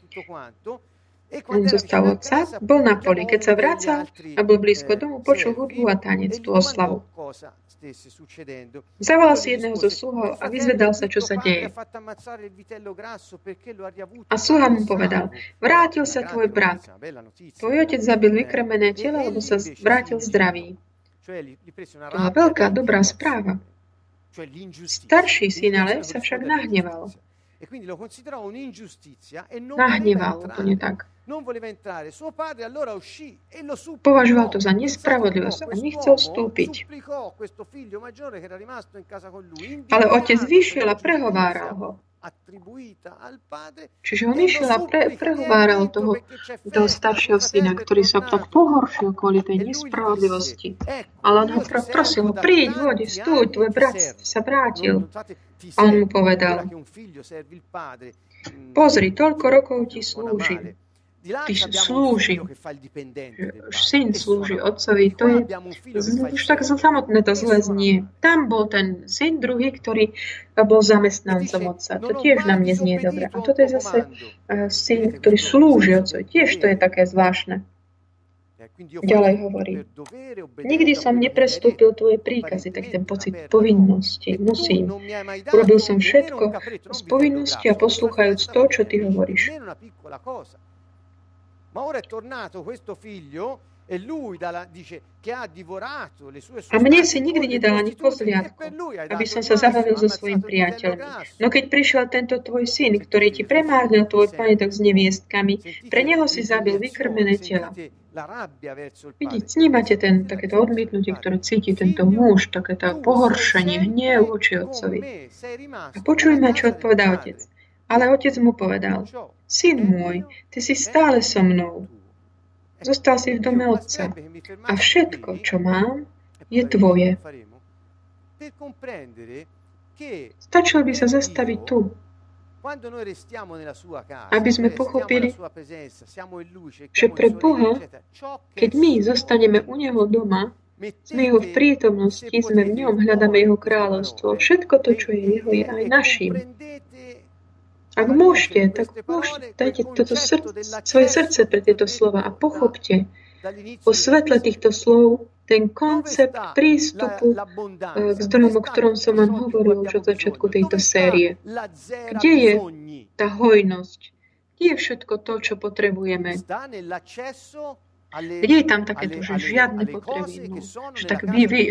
on zostal otca, bol na poli. Keď sa vracal a bol blízko domu, počul hudbu a tanec, tú oslavu. Zavolal si jedného zo sluhov a vyzvedal sa, čo sa deje. A sluha mu povedal, vrátil sa tvoj brat. Tvoj otec zabil vykrmené telo, lebo sa vrátil zdravý. To bola veľká, dobrá správa. Starší syn ale sa však nahneval. Nahneval, úplne tak. Považoval to za nespravodlivosť a nechcel vstúpiť. Ale otec vyšiel a prehováral ho. Čiže on išiel a prehováral toho staršieho syna, ktorý sa tak pohoršil kvôli tej nespravodlivosti. Ale on ho prosil, príď, vodi, stúď, tvoj brat sa vrátil. A on mu povedal, pozri, toľko rokov ti slúžim. Ty slúži. Syn slúži otcovi. To je už tak samotné to zle znie. Tam bol ten syn druhý, ktorý bol zamestnancom otca. To tiež nám neznie dobre. A toto je zase syn, ktorý slúži otcovi. Tiež to je také zvláštne. Ďalej hovorí. Nikdy som neprestúpil tvoje príkazy, tak ten pocit povinnosti. Musím. Urobil som všetko z povinnosti a poslúchajúc to, čo ty hovoríš. A mne si nikdy nedal ani pozliadku, aby som sa zabavil so svojím priateľmi. No keď prišiel tento tvoj syn, ktorý ti premárnil tvoj majetok s neviestkami, pre neho si zabil vykrmené tela. Vidíte, snímate takéto odmietnutie, ktoré cíti tento muž, takéto pohoršenie, hnev voči otcovi. A počujme, čo odpovedá otec. Ale otec mu povedal, syn môj, ty si stále so mnou. Zostal si v dome otca. A všetko, čo mám, je tvoje. Stačilo by sa zastaviť tu, aby sme pochopili, že pre Boha, keď my zostaneme u Neho doma, sme Jeho v prítomnosti, sme v ňom, hľadáme Jeho kráľovstvo. Všetko to, čo je Jeho, je aj našim. Ak môžete, tak dajte svoje srdce pre tieto slova a pochopte o svetle týchto slov ten koncept prístupu k zdrojom, o ktorom som vám hovoril už od začiatku tejto série. Kde je tá hojnosť? Kde je všetko to, čo potrebujeme? Kde je tam takéto, že žiadne potreby? Že tak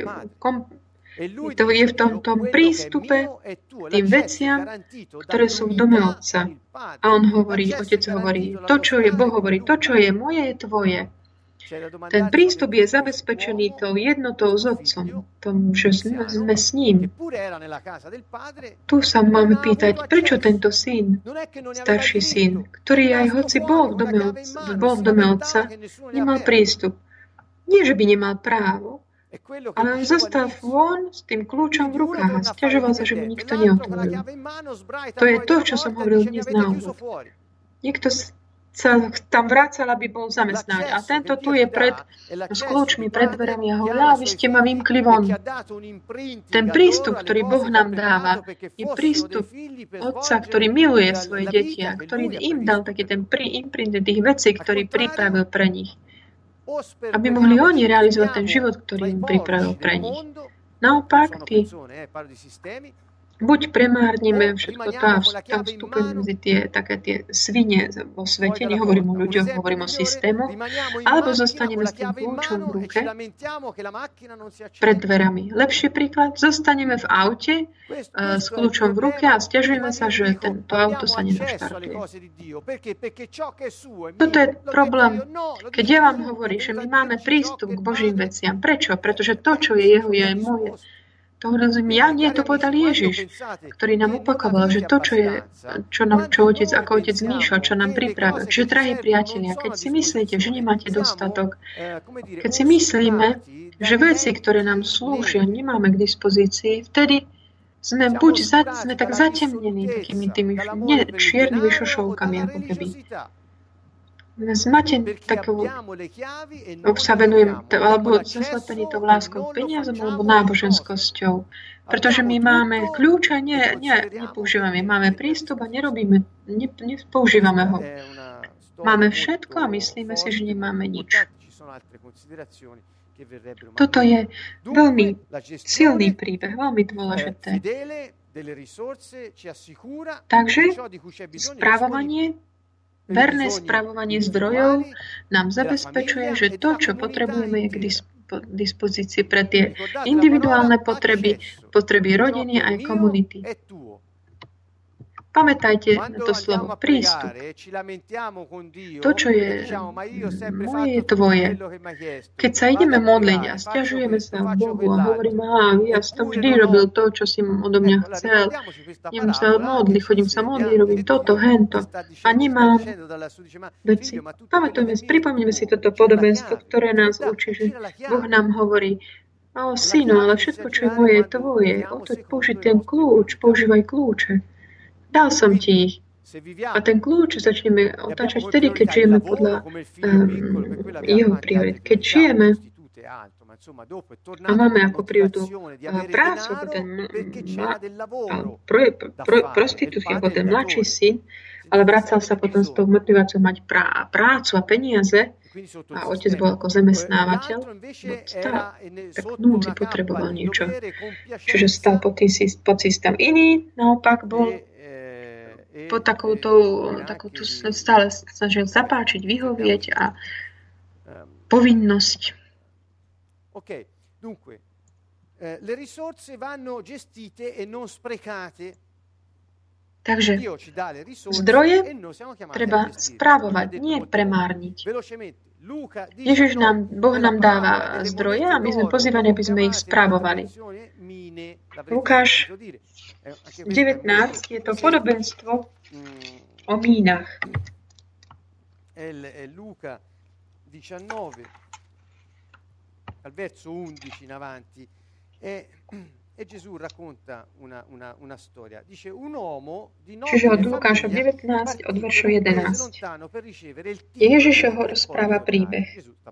to je v tom prístupe k tým veciam, ktoré sú v dome Otca. A Otec hovorí, to, čo je Boh, hovorí, to, čo je moje, je tvoje. Ten prístup je zabezpečený tou jednotou s Otcom, tom, že sme s ním. Tu sa máme pýtať, prečo tento syn, starší syn, ktorý aj hoci bol v dome Otca, nemal prístup. Nie, že by nemal právo, ale on zostal von s tým kľúčom v rukách a sťažoval sa, že mu nikto neotvoril. To je to, čo som hovoril dnes na úvod. Niekto sa tam vracal, aby bol zamestnaný. A tento tu je s kľúčmi pred dverami a hovorí, vy ste ma vymkli von. Ten prístup, ktorý Boh nám dáva, je prístup Otca, ktorý miluje svoje deti a ktorý im dal taký ten imprint tých vecí, ktorý pripravil pre nich. Aby mohli oni realizovať ten život, ktorý im pripravil pre nich. Naopak, buď premárnime všetko to a tam vstúpime medzi tie svine vo svete, nehovorím o ľuďoch, hovorím o systému, alebo zostaneme s tým kľúčom v ruke pred dverami. Lepší príklad, zostaneme v aute s kľúčom v ruke a sťažujeme sa, že to auto sa nenaštartuje. Toto je problém, keď ja vám hovorím, že my máme prístup k Božím veciam. Prečo? Pretože to, čo je jeho, je aj moje. To rozumiem, to povedal Ježiš, ktorý nám opakoval, že to, čo otec zmýšľal, čo nám pripravil. Čiže, drahí priatelia, keď si myslíte, že nemáte dostatok, keď si myslíme, že veci, ktoré nám slúžia, nemáme k dispozícii, vtedy sme tak zatemnení takými tými čiernymi šošovkami, ako keby. Sa venujem, alebo zaslepení tou láskou k peniazom alebo náboženskosťou. Pretože my máme kľúč a nepoužívame. Máme prístup a nepoužívame ho. Máme všetko a myslíme si, že nemáme nič. Toto je veľmi silný príbeh, veľmi dôležité. Takže verné spravovanie zdrojov nám zabezpečuje, že to, čo potrebujeme, je k dispozícii pre tie individuálne potreby rodiny aj komunity. Pamätajte na to slovo prístup. To, čo je moje, je tvoje. Keď sa ideme modliť a sťažujeme sa Bohu a hovoríme, ja som vždy robil to, čo si odo mňa chcel. Idem sa modliť, chodím sa modliť, robím toto, hento. A nemám veci. Pripomnime si toto podobenstvo, ktoré nás učí, že Boh nám hovorí, synu, ale všetko, čo je moje, je tvoje. Použij ten kľúč, používaj kľúče. Dal som ti ich. A ten kľúč začneme otáčať vtedy, keď žijeme podľa jeho priorit. Keď žijeme a máme ako prioritu prácu, ako ten prostitúcia, ako ten mladší syn, ale vracal sa potom s tou motiváciou mať prácu a peniaze, a otec bol ako zamestnávateľ, tak núdzi potreboval niečo. Čiže stal pod systém. Iný naopak bol pod takouto stále snažil zapáčiť, vyhovieť a povinnosť. Ok, dunque, le risorse vanno gestite e non sprecate. Takže zdroje treba správovať, nie premárniť. Boh nám dáva zdroje a my sme pozývaní, aby sme ich správovali. Lukáš 19 je to podobenstvo o mínach. Luca 19 al verso 11 in avanti e Gesù racconta una storia. Dice un uomo di Čiže od Lukáša 19 od veršu 11. Ježiš ho rozpráva príbeh.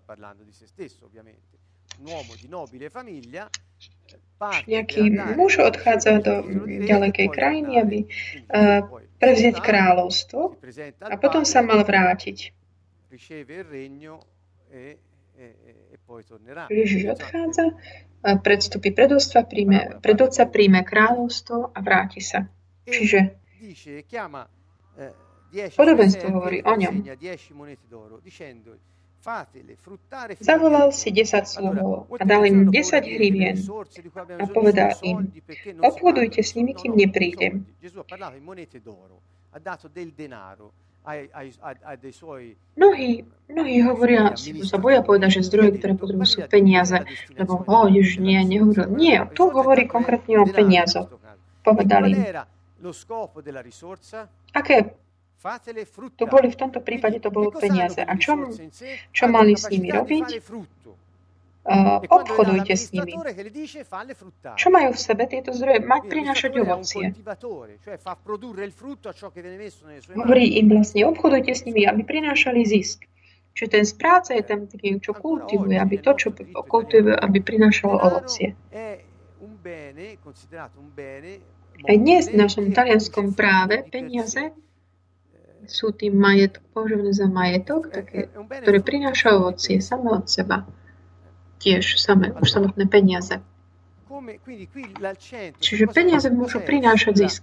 Nejaký muž odchádza do ďalekej krajiny, aby prevziať kráľovstvo a potom sa mal vrátiť. Ježiš odchádza, predstupí pred otca, príjme kráľovstvo a vráti sa. Čiže podobenstvo hovorí o ňom. Zavolal si 10 sluhov a dal im 10 hrivien a povedal im, obchodujte s nimi, kým neprídem. Mnohí hovoria, sa boja povedať, že zdroje, ktoré potrebujú, sú peniaze, lebo Ježiš nehovoril. Nie, tu hovorí konkrétne o peniazoch. Povedali, aké to boli v tomto prípade, to bolo peniaze. A čo mali s nimi robiť? Obchodujte s nimi. Čo majú v sebe tieto zdroje? Mať prinášať ovocie. Hovorí im vlastne, obchodujte s nimi, aby prinášali zisk. Čiže ten správca je tam taký, čo kultivuje, aby to, čo kultivuje, aby prinášalo ovocie. Aj dnes v našom talianskom práve peniaze sú tým považované za majetok, ktoré prináša ovocie samé od seba. Tiež už samotné peniaze. Čiže peniaze môžu prinášať zisk.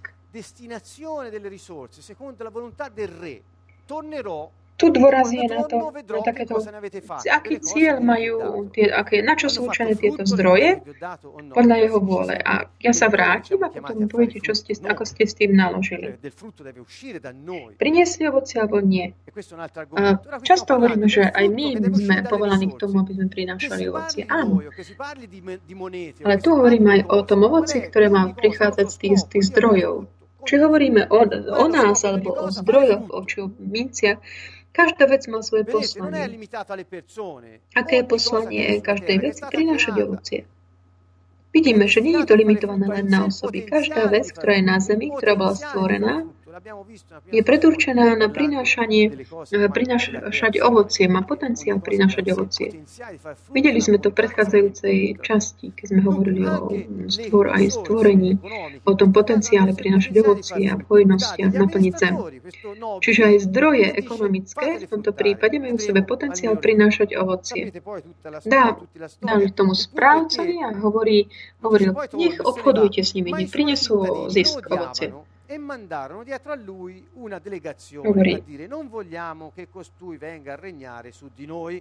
Tu dôraz je na to, aký cieľ majú, na čo sú určené tieto zdroje, podľa jeho vôle. A ja sa vrátim a potom poviete, ako ste s tým naložili. Priniesli ovocie alebo nie? Často hovoríme, že aj my sme povolaní k tomu, aby sme prinášali ovocie. Áno. Ale tu hovoríme aj o tom ovoci, ktoré má prichádzať z tých zdrojov. Či hovoríme o nás, alebo o zdrojoch, o minciach, každá vec má svoje poslanie. Aké je poslanie každej veci? Prinášať ovocie. Vidíme, že nie je to limitované len na osoby. Každá vec, ktorá je na zemi, ktorá bola stvorená, je predurčená na prinášať ovocie, má potenciál prinášať ovocie. Videli sme to v predchádzajúcej časti, keď sme hovorili o stvorení, o tom potenciále prinášať ovocie a v hojnostiach naplniť zem. Čiže aj zdroje ekonomické v tomto prípade majú v sebe potenciál prinášať ovocie. Dali tomu správcovi a hovoril, nech obchodujte s nimi, nech prinesú zisk ovocie. E mandarono dietro a lui una delegazione per dire non vogliamo che costui venga a regnare su di noi.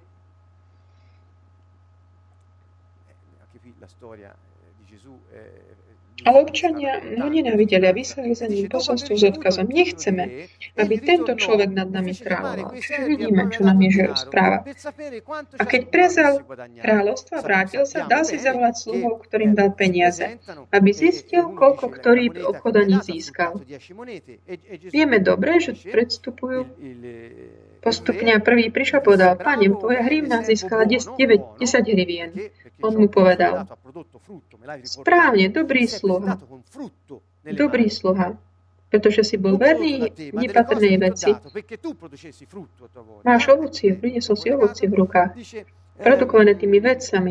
Anche qui la storia di Gesù Ale občania ho nenávideli a vyslali za ním posolstvo s odkazom. Nechceme, aby tento človek nad nami kráľoval. Čiže vidíme, čo nám Ježiš správa. A keď prezrel kráľovstvo a vrátil sa, dal si zavolať sluhov, ktorým dal peniaze, aby zistil, koľko ktorý obchodaník získal. Vieme dobre, že predstupujú postupne a prvý prišiel a povedal, Pane, tvoja hrivna získala 10 hrivien. On mu povedal, správne, dobrý sluha, pretože si bol verný nepatrnej veci. Máš ovocie, priniesol si ovocie v rukách, produkované tými vecami.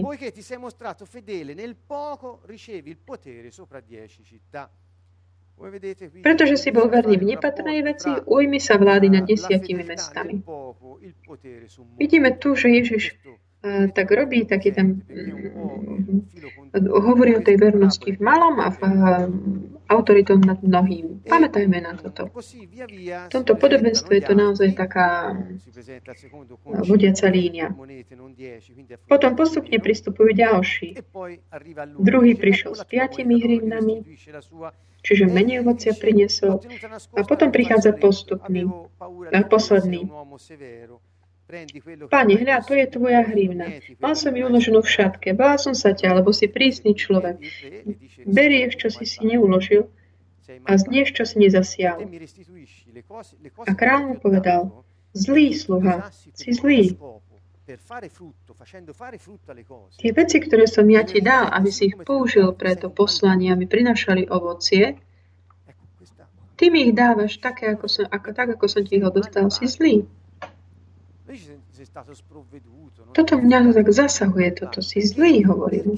Pretože si bol verný v nepatrnej veci, ujmi sa vlády nad 10 mestami. Vidíme tu, že Ježiš tak robí, taký ten hovorí o tej vernosti v malom a v autoritou nad mnohým. Pamätajme na toto. V tomto podobenstve je to naozaj taká vodiaca línia. Potom postupne pristupujú ďalší. Druhý prišiel s 5 hrivnami, čiže menej ovocia priniesol. A potom prichádza posledný. Pane, hľa, to je tvoja hrivna. Mal som ju uloženú v šatke. Bál som sa ťa, lebo si prísny človek. Berieš, čo si neuložil a znieš, čo si nezasial. A kráľ mu povedal, zlý sluha, si zlý. Tie veci, ktoré som ja ti dal, aby si ich použil pre to poslanie, aby prinašali ovocie, ty mi ich dávaš tak, ako som ti ho dostal, si zlý. Toto mňa tak zasahuje, toto si zlý, hovorím.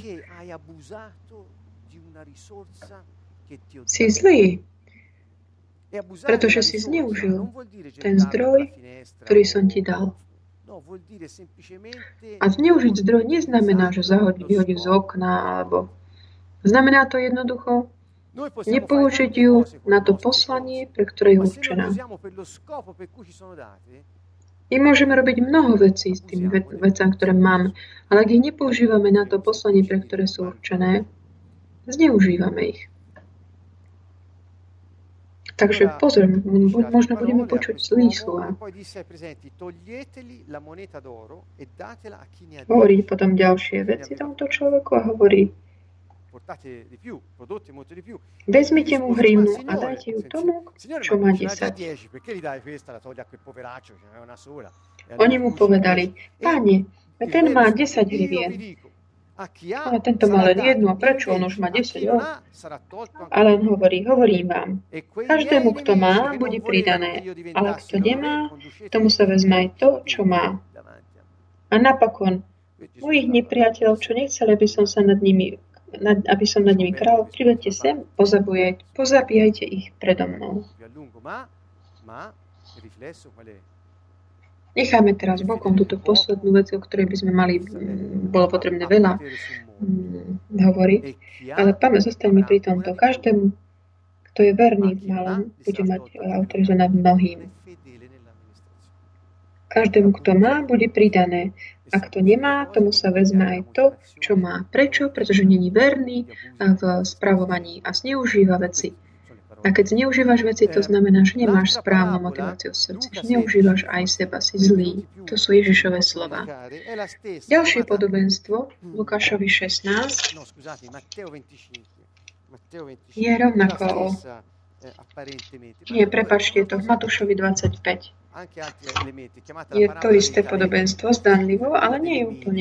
Si zlý, pretože si zneužil ten zdroj, ktorý som ti dal. A zneužiť zdroj neznamená, že vyhodiť z okna, alebo znamená to jednoducho nepoužiť ju na to poslanie, pre ktoré je určená. My môžeme robiť mnoho vecí s tými vecami, ktoré máme, ale ak ich nepoužívame na to poslanie, pre ktoré sú určené, zneužívame ich. Takže pozor, možno budeme počuť zlý slova. Hovorí potom ďalšie veci tomuto človeku a hovorí: vezmite mu hryvnu a dajte ju tomu, čo má 10. Oni mu povedali: Páne, ten má 10 hrivien. Ale tento má len jednu, a prečo on už má 10? Ale on hovorím vám, každému, kto má, bude pridané, ale kto nemá, tomu sa vezme aj to, čo má. A napokon, mojich nepriateľov, čo nechceli, aby som nad nimi kráľ, privedte sem, pozabíjajte ich predo mnou. Necháme teraz bokom túto poslednú vec, o ktorej by sme bolo potrebné veľa hovoriť, ale zostaňme pri tomto. Každému, kto je verný v malom, bude mať autoritu nad mnohým. Každému, kto má, bude pridané. A kto nemá, tomu sa vezme aj to, čo má. Prečo? Pretože není verný v spravovaní a zneužíva veci. A keď zneužívaš veci, to znamená, že nemáš správnu motiváciu v srdci, že neužívaš aj seba, si zlý. To sú Ježišove slova. Ďalšie podobenstvo, Lukášovi 16, je rovnako prepáčte, je to v Matúšovi 25. Je to isté podobenstvo, zdanlivo, ale nie je úplne.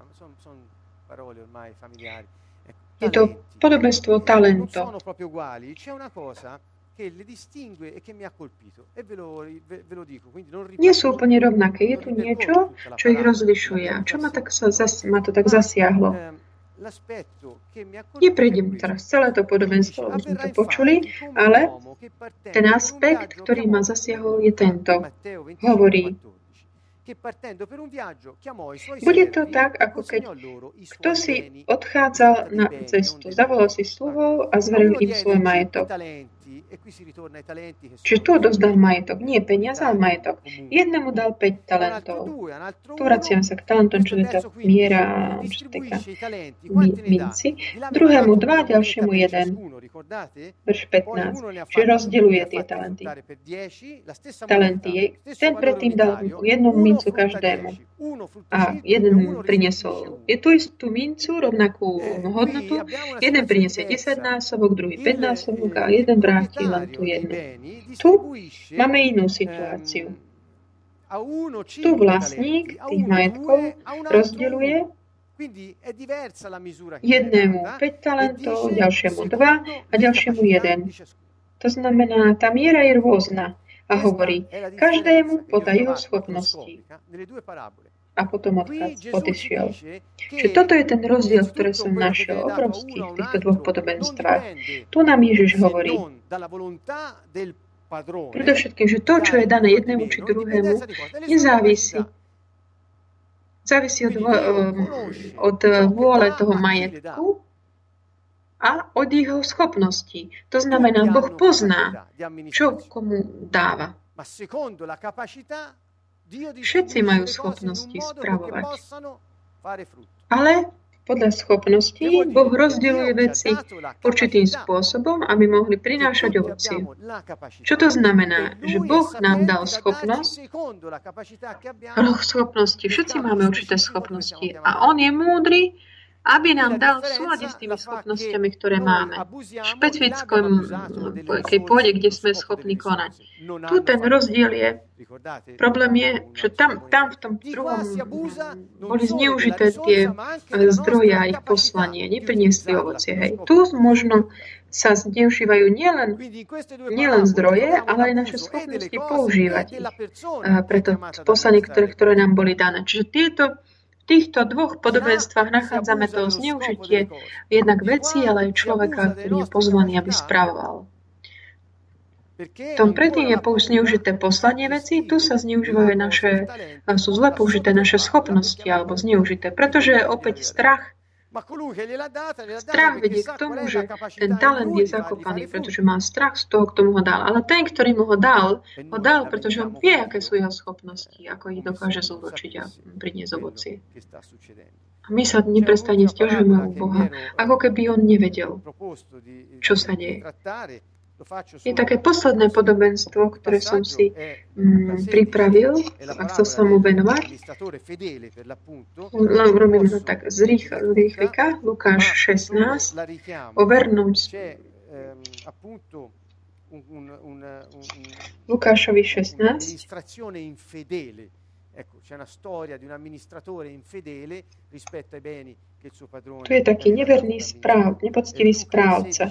Je to podobenstvo talento. Nie sú úplne rovnaké. Je tu niečo, čo ich rozlišuje. A čo ma to tak zasiahlo? Neprejdem teraz celé to podobenstvo, aby sme to počuli, ale ten aspekt, ktorý ma zasiahol, je tento. Hovorí: bude to tak, ako keď kto si odchádzal na cestu, zavolal si sluhov a zveril im svoj majetok. Čiže tu odozdal majetok, nie peniaze, ale majetok. Jednému dal 5 talentov. Tu vraciam sa k talentom, čo je tá miera, čo týka minci. Druhému 2, ďalšiemu 1. Verš 15. Čiže rozdeľuje tie talenty. Ten predtým dal jednu mincu každému. A jeden priniesol tú istú mincu, rovnakú hodnotu. Jeden priniesie 10 násobok, druhý 5 násobok a jeden vráti len tú jednu. Tu máme inú situáciu. Tu vlastník tých majetkov rozdeľuje jednému 5 talentov, ďalšiemu 2 a ďalšiemu 1. To znamená, tá miera je rôzna a hovorí, každému podľa jeho schopností. A potom odišiel. Čiže toto je ten rozdiel, ktorý som našiel obrovský v týchto dvoch podobenstvách. Tu nám Ježiš hovorí, predovšetkým, že to, čo je dané jednému či druhému, nezávisí. Závisí od vôle toho majetku a od jeho schopností. To znamená, Boh pozná, čo komu dáva. Všetci majú schopnosti spravovať. Ale podľa schopností Boh rozdeľuje veci určitým spôsobom, aby mohli prinášať ovocie. Čo to znamená? Že Boh nám dal schopnosť, všetci máme určité schopnosti a On je múdry, aby nám dal v súlade s tými schopnosťami, ktoré máme. Špecifickom, keď pôjde, kde sme schopní konať. Tu ten rozdiel je, problém je, že tam v tom druhom boli zneužité tie zdroje a ich poslanie, nepriniesli ovocie. Hej. Tu možno sa zneužívajú nielen zdroje, ale aj naše schopnosti používať ich. Preto poslanie, ktoré nám boli dané. Čiže v týchto dvoch podobenstvách nachádzame to zneužitie jednak veci, ale aj človeka, ktorý je pozvaný, aby spravoval. V tom predtým je zneužité poslanie veci, tu sa zneužívajú sú zle použité naše schopnosti alebo zneužité, pretože opäť strach vedie k tomu, že ten talent je zakopaný, pretože má strach z toho, kto mu ho dal. Ale ten, ktorý mu ho dal, pretože on vie, aké sú jeho schopnosti, ako ich dokáže zúročiť a priniesť ovocie. A my sa neprestane sťažujeme u Boha, ako keby on nevedel, čo sa deje. Je také posledné podobenstvo, ktoré som si pripravil a chcel som mu venovať. Robíme to tak z rýchlika, Lukáš 16, o vernom Lukášovi 16. Ecco, c'è una storia di un amministratore infedele rispetto ai beni che il suo padrone. Tu je taký neverný nepoctivý správca.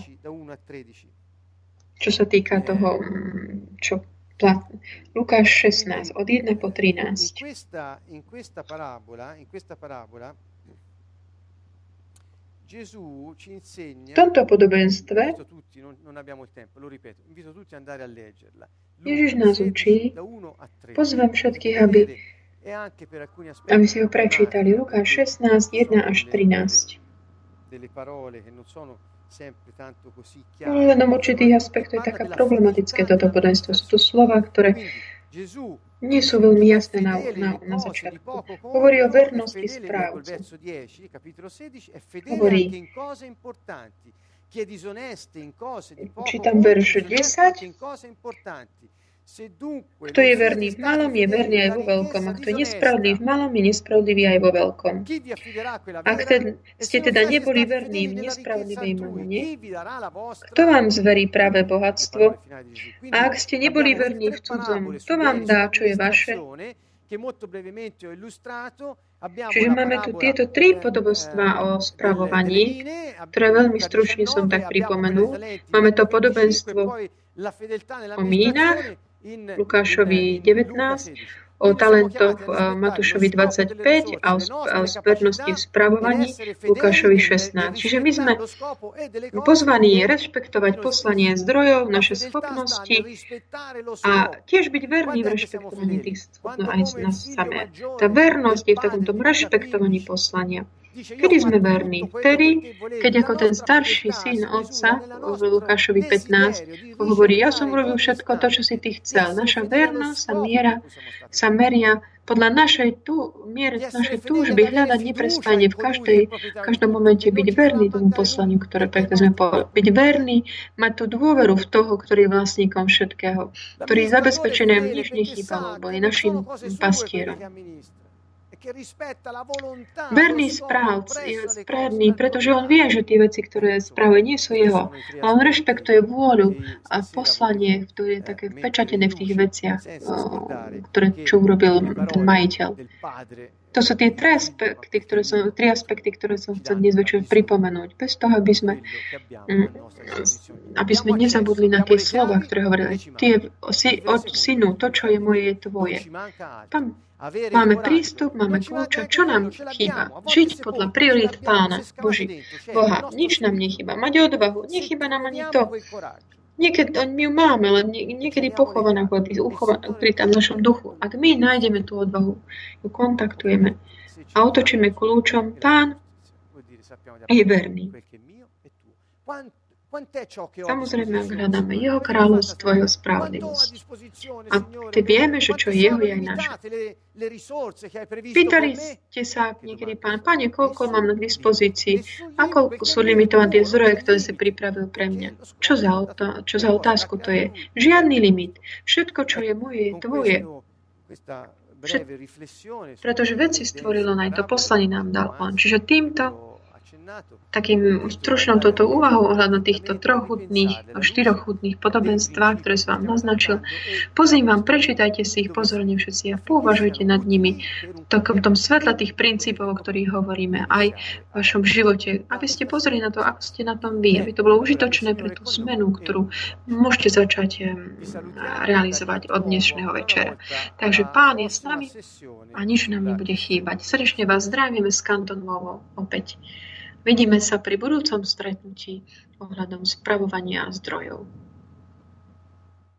Čo sa týka toho, Lukáš 16, od 1 po 13. In questa parabola, Gesù ci insegna, v tomto podobenstve non abbiamo il tempo, lo ripeto, invito tutti ad andare a leggerla. Ježiš nás učí, pozvem všetkých, aby si ho prečítali. Lukáš 16, 1 až 13. Len určitých aspektov je taká problematické toto podobenstvo. Sú to slova, ktoré nie sú veľmi jasné na začiatku. Hovorí o vernosti správcu. Hovorí, čítam verš 10, kto je verný v malom, je verný aj vo veľkom. A kto je nespravodlivý v malom, je nespravodlivý aj vo veľkom. Ak ste teda neboli verní v nespravodlivej mamone, kto vám zverí práve bohatstvo? A ak ste neboli verní v cudzom, kto vám dá, čo je vaše? Čiže máme tu tieto tri podobenstvá o spravovaní, ktoré veľmi stručne som tak pripomenul. Máme to podobenstvo o mínach, Lukášovi 19, o talentoch Matúšovi 25 a o spernosti v spravovaní Lukášovi 16. Čiže my sme pozvaní rešpektovať poslanie zdrojov, naše schopnosti a tiež byť verní v rešpektovaní tých schopností aj nás samé. Tá vernosť je v takomto rešpektovaní poslania. Kedy sme verní? Vtedy, keď ako ten starší syn otca v Lukášovi 15 hovorí, ja som robil všetko to, čo si ty chcel. Naša vernosť sa meria podľa našej túžby hľadať neprestane v každom momente byť verný tomu poslaniu, ktoré pekne sme povedali. Byť verný, mať tú dôveru v toho, ktorý je vlastníkom všetkého, ktorý je zabezpečený, nič nechýbalo, bo je našim pastierom. Verný správc je správny, pretože on vie, že tie veci, ktoré spravuje, nie sú jeho. Ale on rešpektuje vôľu a poslanie, ktoré je také vpečatené v tých veciach, čo urobil ten majiteľ. To sú tie tri aspekty, ktoré som chcel dnes večer pripomenúť. Bez toho, aby sme nezabudli na tie slova, ktoré hovorili. Od synu, to, čo je moje, je tvoje. Máme prístup, máme kľúče. Čo nám chýba? Žiť podľa priorít Pána Boha. Nič nám nechýba. Mať odvahu. Nechýba nám ani to. Niekedy my ju máme, ale niekedy pochovaná ukrytá v našom duchu. Ak my nájdeme tú odvahu, ju kontaktujeme a otočíme kľúčom, Pán je verný. Samozrejme, ak hľadáme jeho kráľovstvo, jeho spravodlivosť. A vieme, že čo jeho je aj naše. Pýtali ste sa niekedy, Pane, koľko mám na dispozícii a koľko sú limitované tie zdroje, ktoré si pripravil pre mňa. Čo za otázku to je? Žiadny limit. Všetko, čo je moje, je tvoje. Pretože veci stvorilo aj to poslanie nám dal on. Čiže týmto takým stručnou toto úvahou ohľadom týchto štyroch chutných podobenstvách, ktoré som vám naznačil. Pozývam, prečítajte si ich pozorne všetci a pouvažujte nad nimi v tom svetle tých princípov, o ktorých hovoríme aj v vašom živote, aby ste pozreli na to, ako ste na tom vy, aby to bolo užitočné pre tú zmenu, ktorú môžete začať realizovať od dnešného večera. Takže Pán je s nami a nič nám nebude chýbať. Srdečne vás zdravíme z Kanton Lvovo opäť. Vidíme sa pri budúcom stretnutí ohľadom spravovania zdrojov.